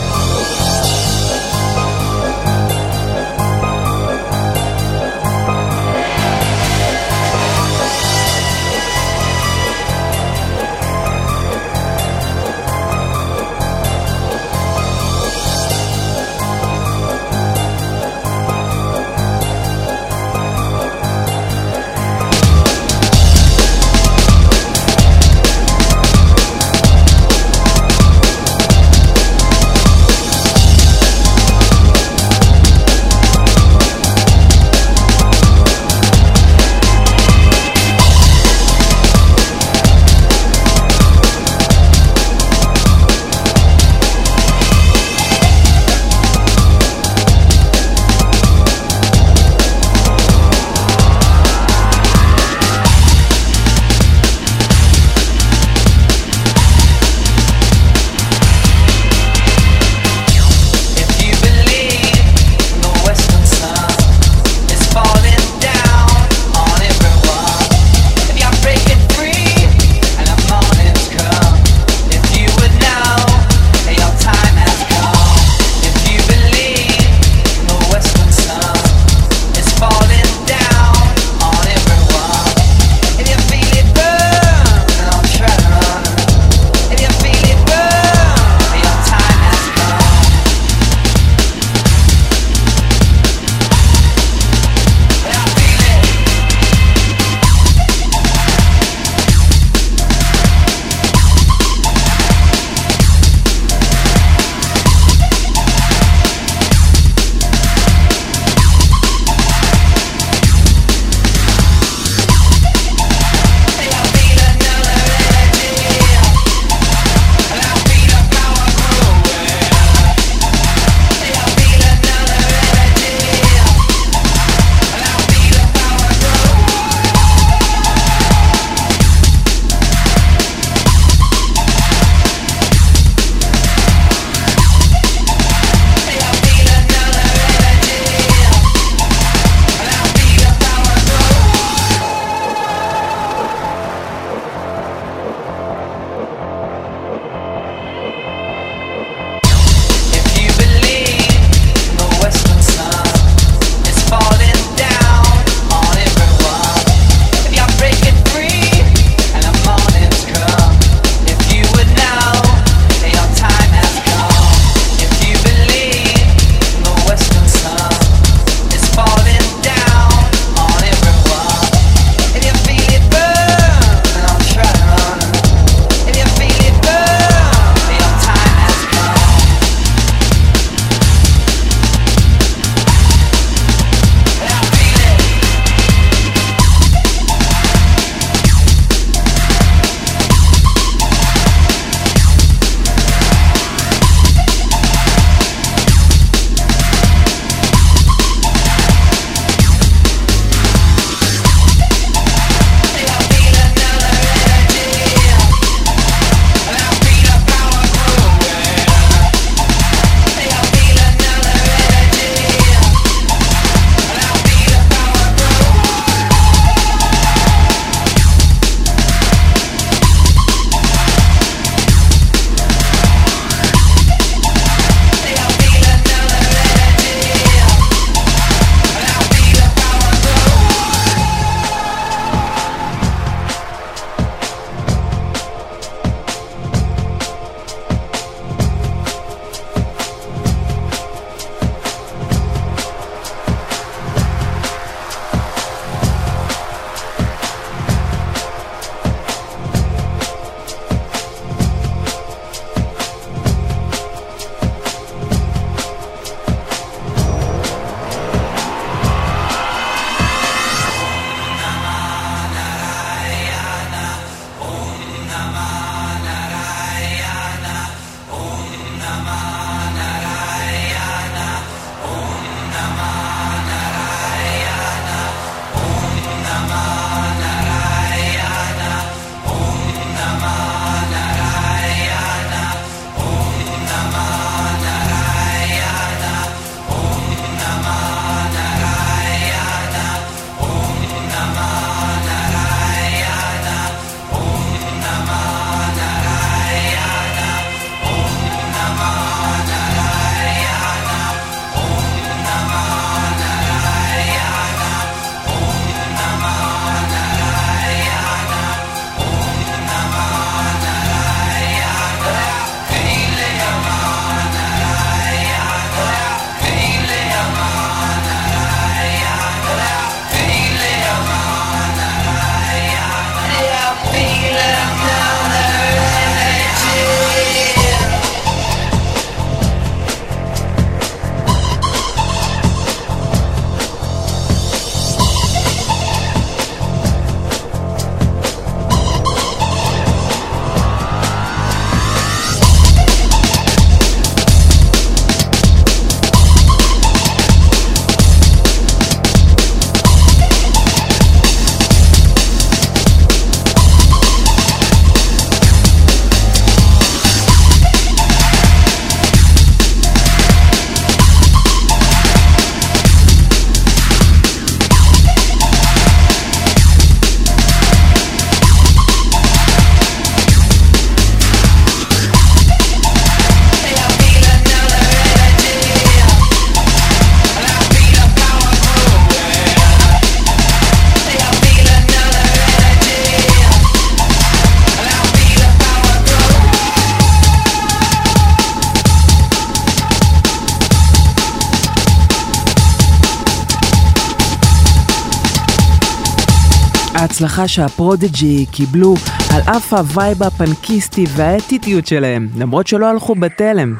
ההצלחה שהפרודיג'י קיבלו על אף הווייב הפנקיסטי והאטיטיות שלהם, למרות שלא הלכו בתלם,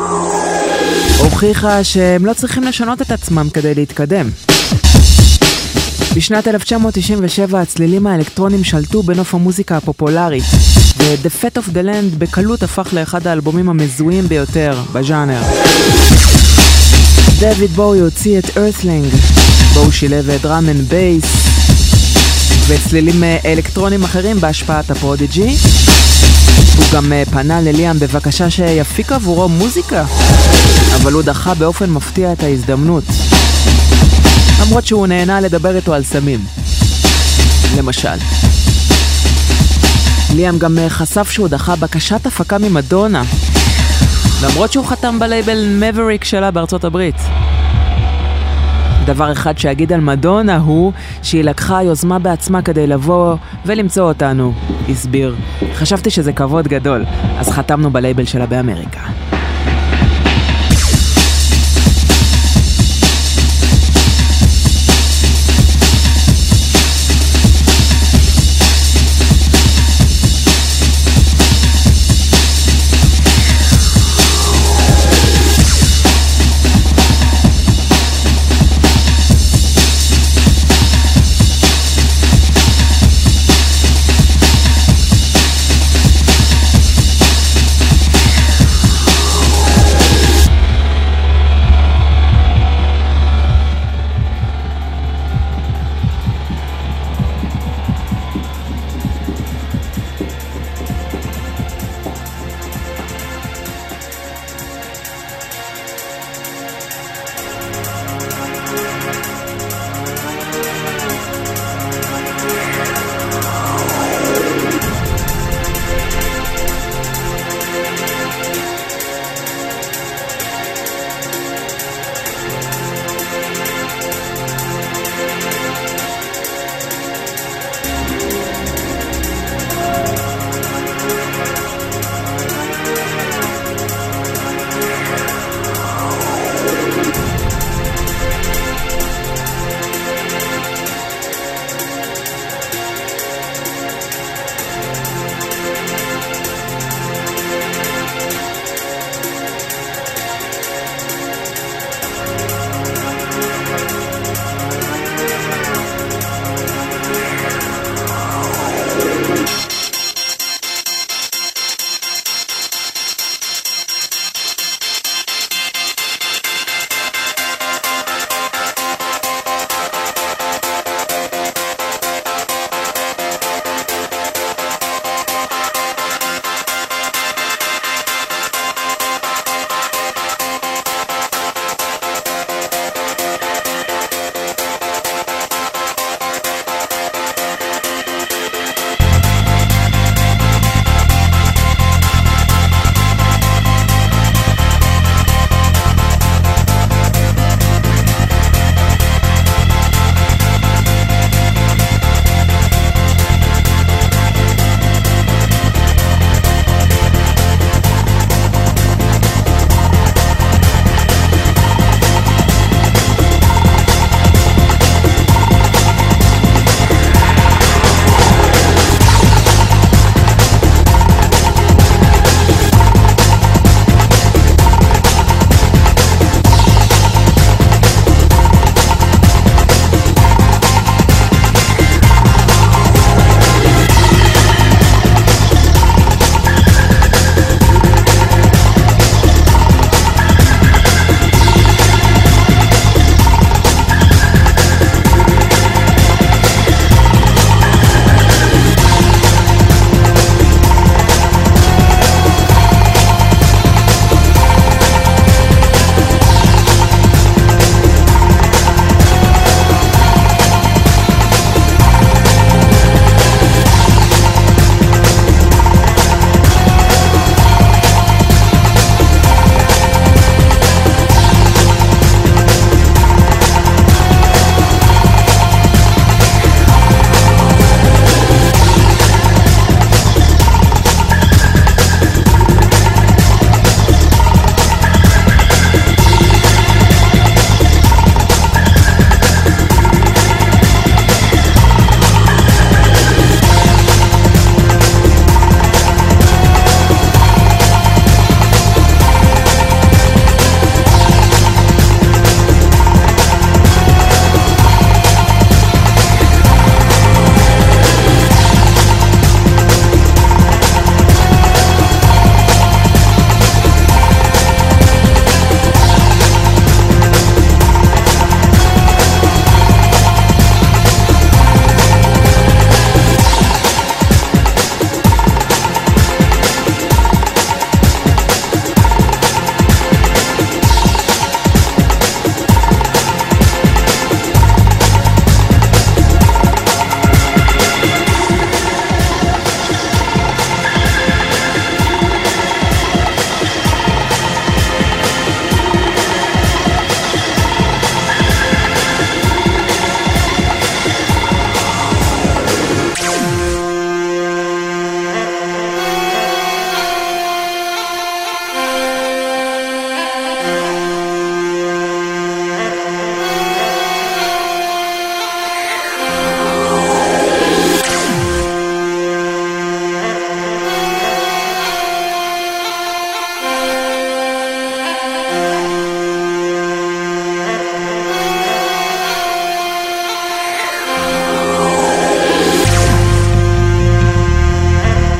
הוכיחה שהם לא צריכים לשנות את עצמם כדי להתקדם. בשנת אלף תשע מאות תשעים ושבע הצלילים האלקטרונים שלטו בנוף המוזיקה הפופולרית, ו-The Fate of the Land בקלות הפך לאחד האלבומים המזוהים ביותר בז'אנר. דויד בואי הוציא את Earthling, בו הוא שילב דראם אנד בייס וצלילים אלקטרונים אחרים בהשפעת הפרודיג'י. הוא גם פנה לליאם בבקשה שיפיק עבורו מוזיקה, אבל הוא דחה באופן מפתיע את ההזדמנות, למרות שהוא נהנה לדבר איתו על סמים למשל. ליאם גם חשף שהוא דחה בקשת הפקה ממדונה, למרות שהוא חתם בלייבל מבריק שלה בארצות הברית. דבר אחד שאגיד על מדונה הוא שהיא לקחה יוזמה בעצמה כדי לבוא ולמצוא אותנו, הסביר. חשבתי שזה כבוד גדול, אז חתמנו בלייבל שלה באמריקה.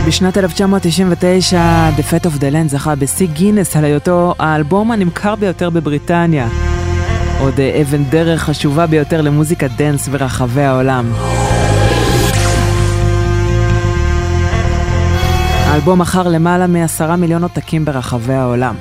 בשנת אלף תשע מאות תשעים ותשע, The Fate of the Land זכה בשיא גינס על היותו האלבום הנמכר ביותר בבריטניה. עוד אבן דרך חשובה ביותר למוזיקת דנס ברחבי העולם. האלבום מכר למעלה מעשרה מיליון עותקים ברחבי העולם.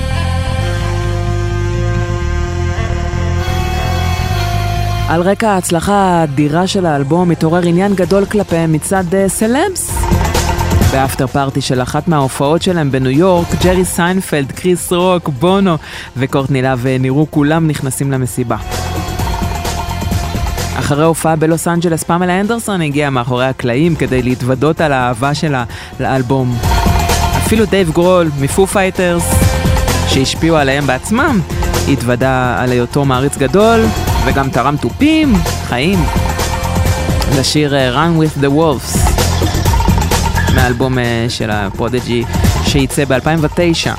על רקע ההצלחה האדירה של האלבום מתעורר עניין גדול כלפיהם מצד סלבס. באפטר פארטי של אחת מההופעות שלהם בניו יורק, ג'רי סיינפלד, קריס רוק, בונו וקורטני לאב נראו כולם נכנסים למסיבה. אחרי הופעה בלוס אנג'לס, פמלה אנדרסון הגיעה מאחורי הקלעים כדי להתוודות על האהבה שלה לאלבום. אפילו דייב גרול מפו פייטרס, שהשפיעו עליהם בעצמם, התוודה על היותו מעריץ גדול וגם תרם טופים, חיים, לשיר Run with the Wolves מהאלבום של הפרודג'י שייצא ב-אלפיים ותשע.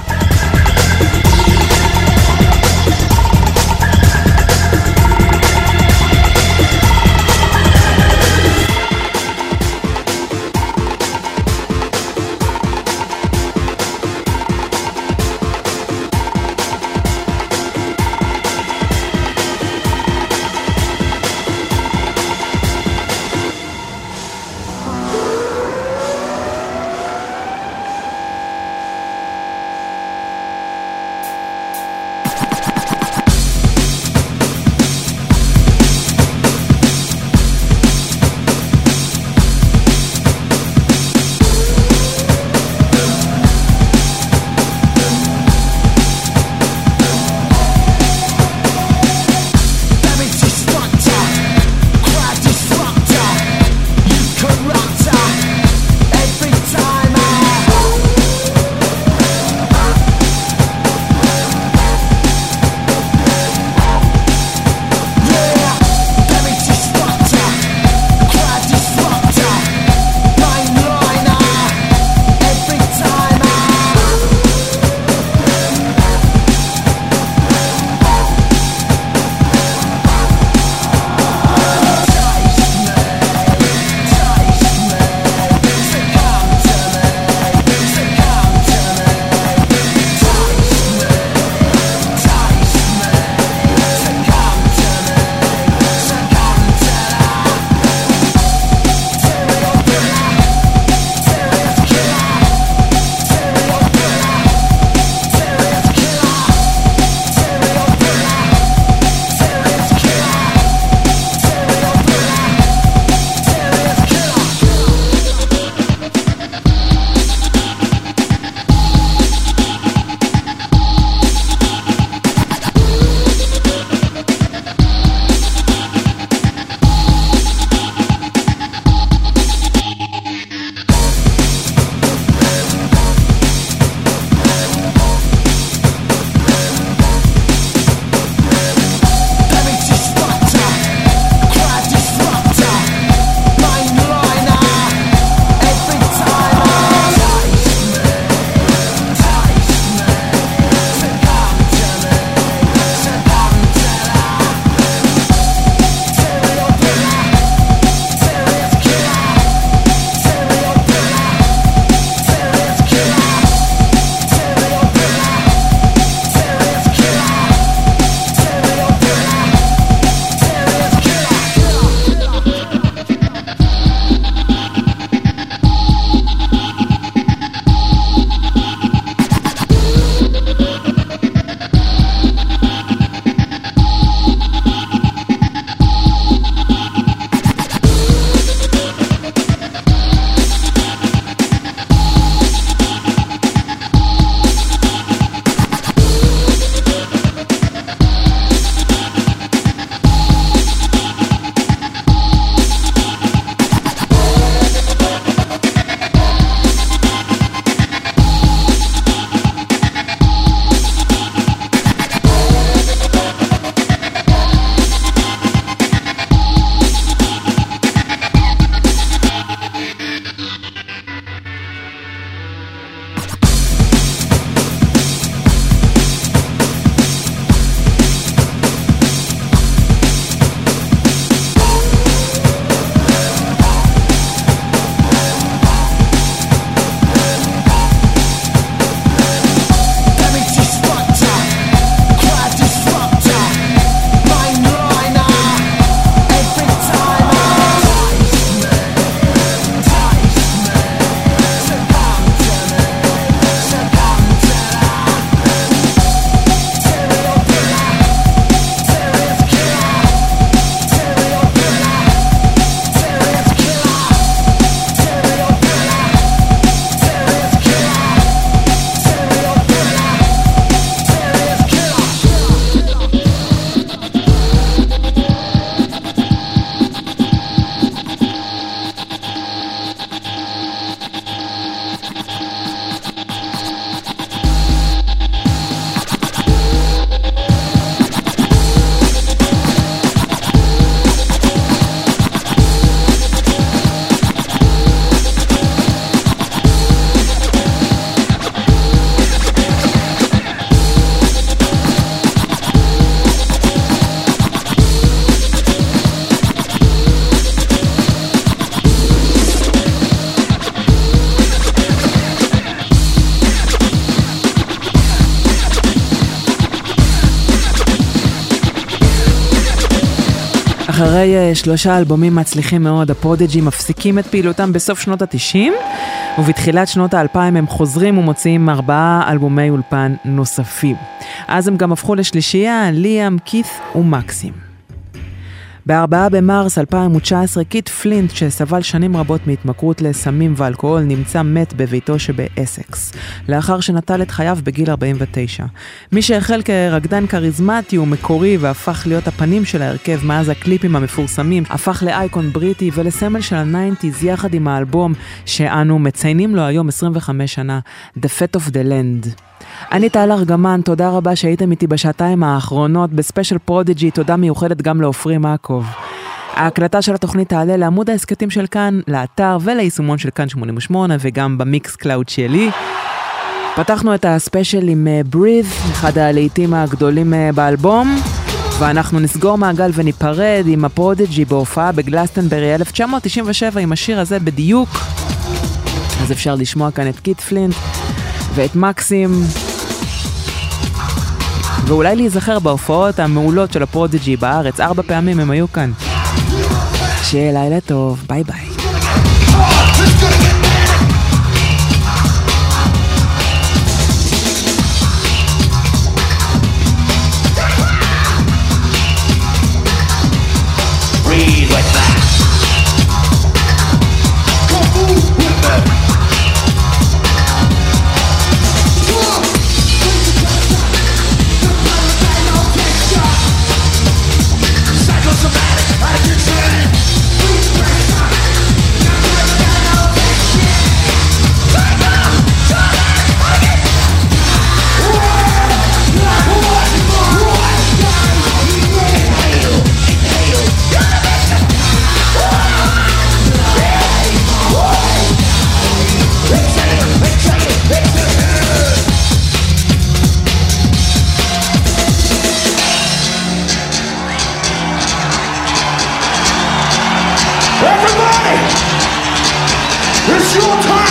אחרי שלושה אלבומים מצליחים מאוד, הפרודיג'י מפסיקים את פעילותם בסוף שנות ה-תשעים, ובתחילת שנות ה-אלפיים הם חוזרים ומוציאים ארבעה אלבומי אולפן נוספים. אז הם גם הפכו לשלישייה, ליאם, כית ומקסים. בארבעה במרס אלפיים תשע עשרה, קית' פלינט, שסבל שנים רבות מהתמכרות לסמים ואלכוהול, נמצא מת בביתו שבאסקס, לאחר שנטל את חייו בגיל ארבעים ותשע. מי שהחל כרקדן קריזמטי ומקורי והפך להיות הפנים של ההרכב מאז הקליפים המפורסמים, הפך לאייקון בריטי ולסמל של ה-תשעים יחד עם האלבום שאנו מציינים לו היום עשרים וחמש שנה, The Fate of the Land. אני טל ארגמן, תודה רבה שהייתם איתי בשעתיים האחרונות בספיישל פרודיג'י, תודה מיוחדת גם לאופרי מעקוב. ההקלטה של התוכנית תעלה לעמוד העסקתים של כאן, לאתר וליישומון של כאן שמונים ושמונה וגם במיקס קלאוד שלי. פתחנו את הספיישל עם Breathe, אחד הלהיטים הגדולים באלבום, ואנחנו נסגור מעגל וניפרד עם הפרודיג'י בהופעה בגלסטנברי אלף תשע מאות תשעים ושבע עם השיר הזה בדיוק. אז אפשר לשמוע כאן את קית' פלינט ואת מקסים, ואולי להיזכר בהופעות המעולות של הפרודיג'י בארץ, ארבע פעמים הם היו כאן. שיהיה לילה טוב, ביי ביי. Breathe like that. It's your time!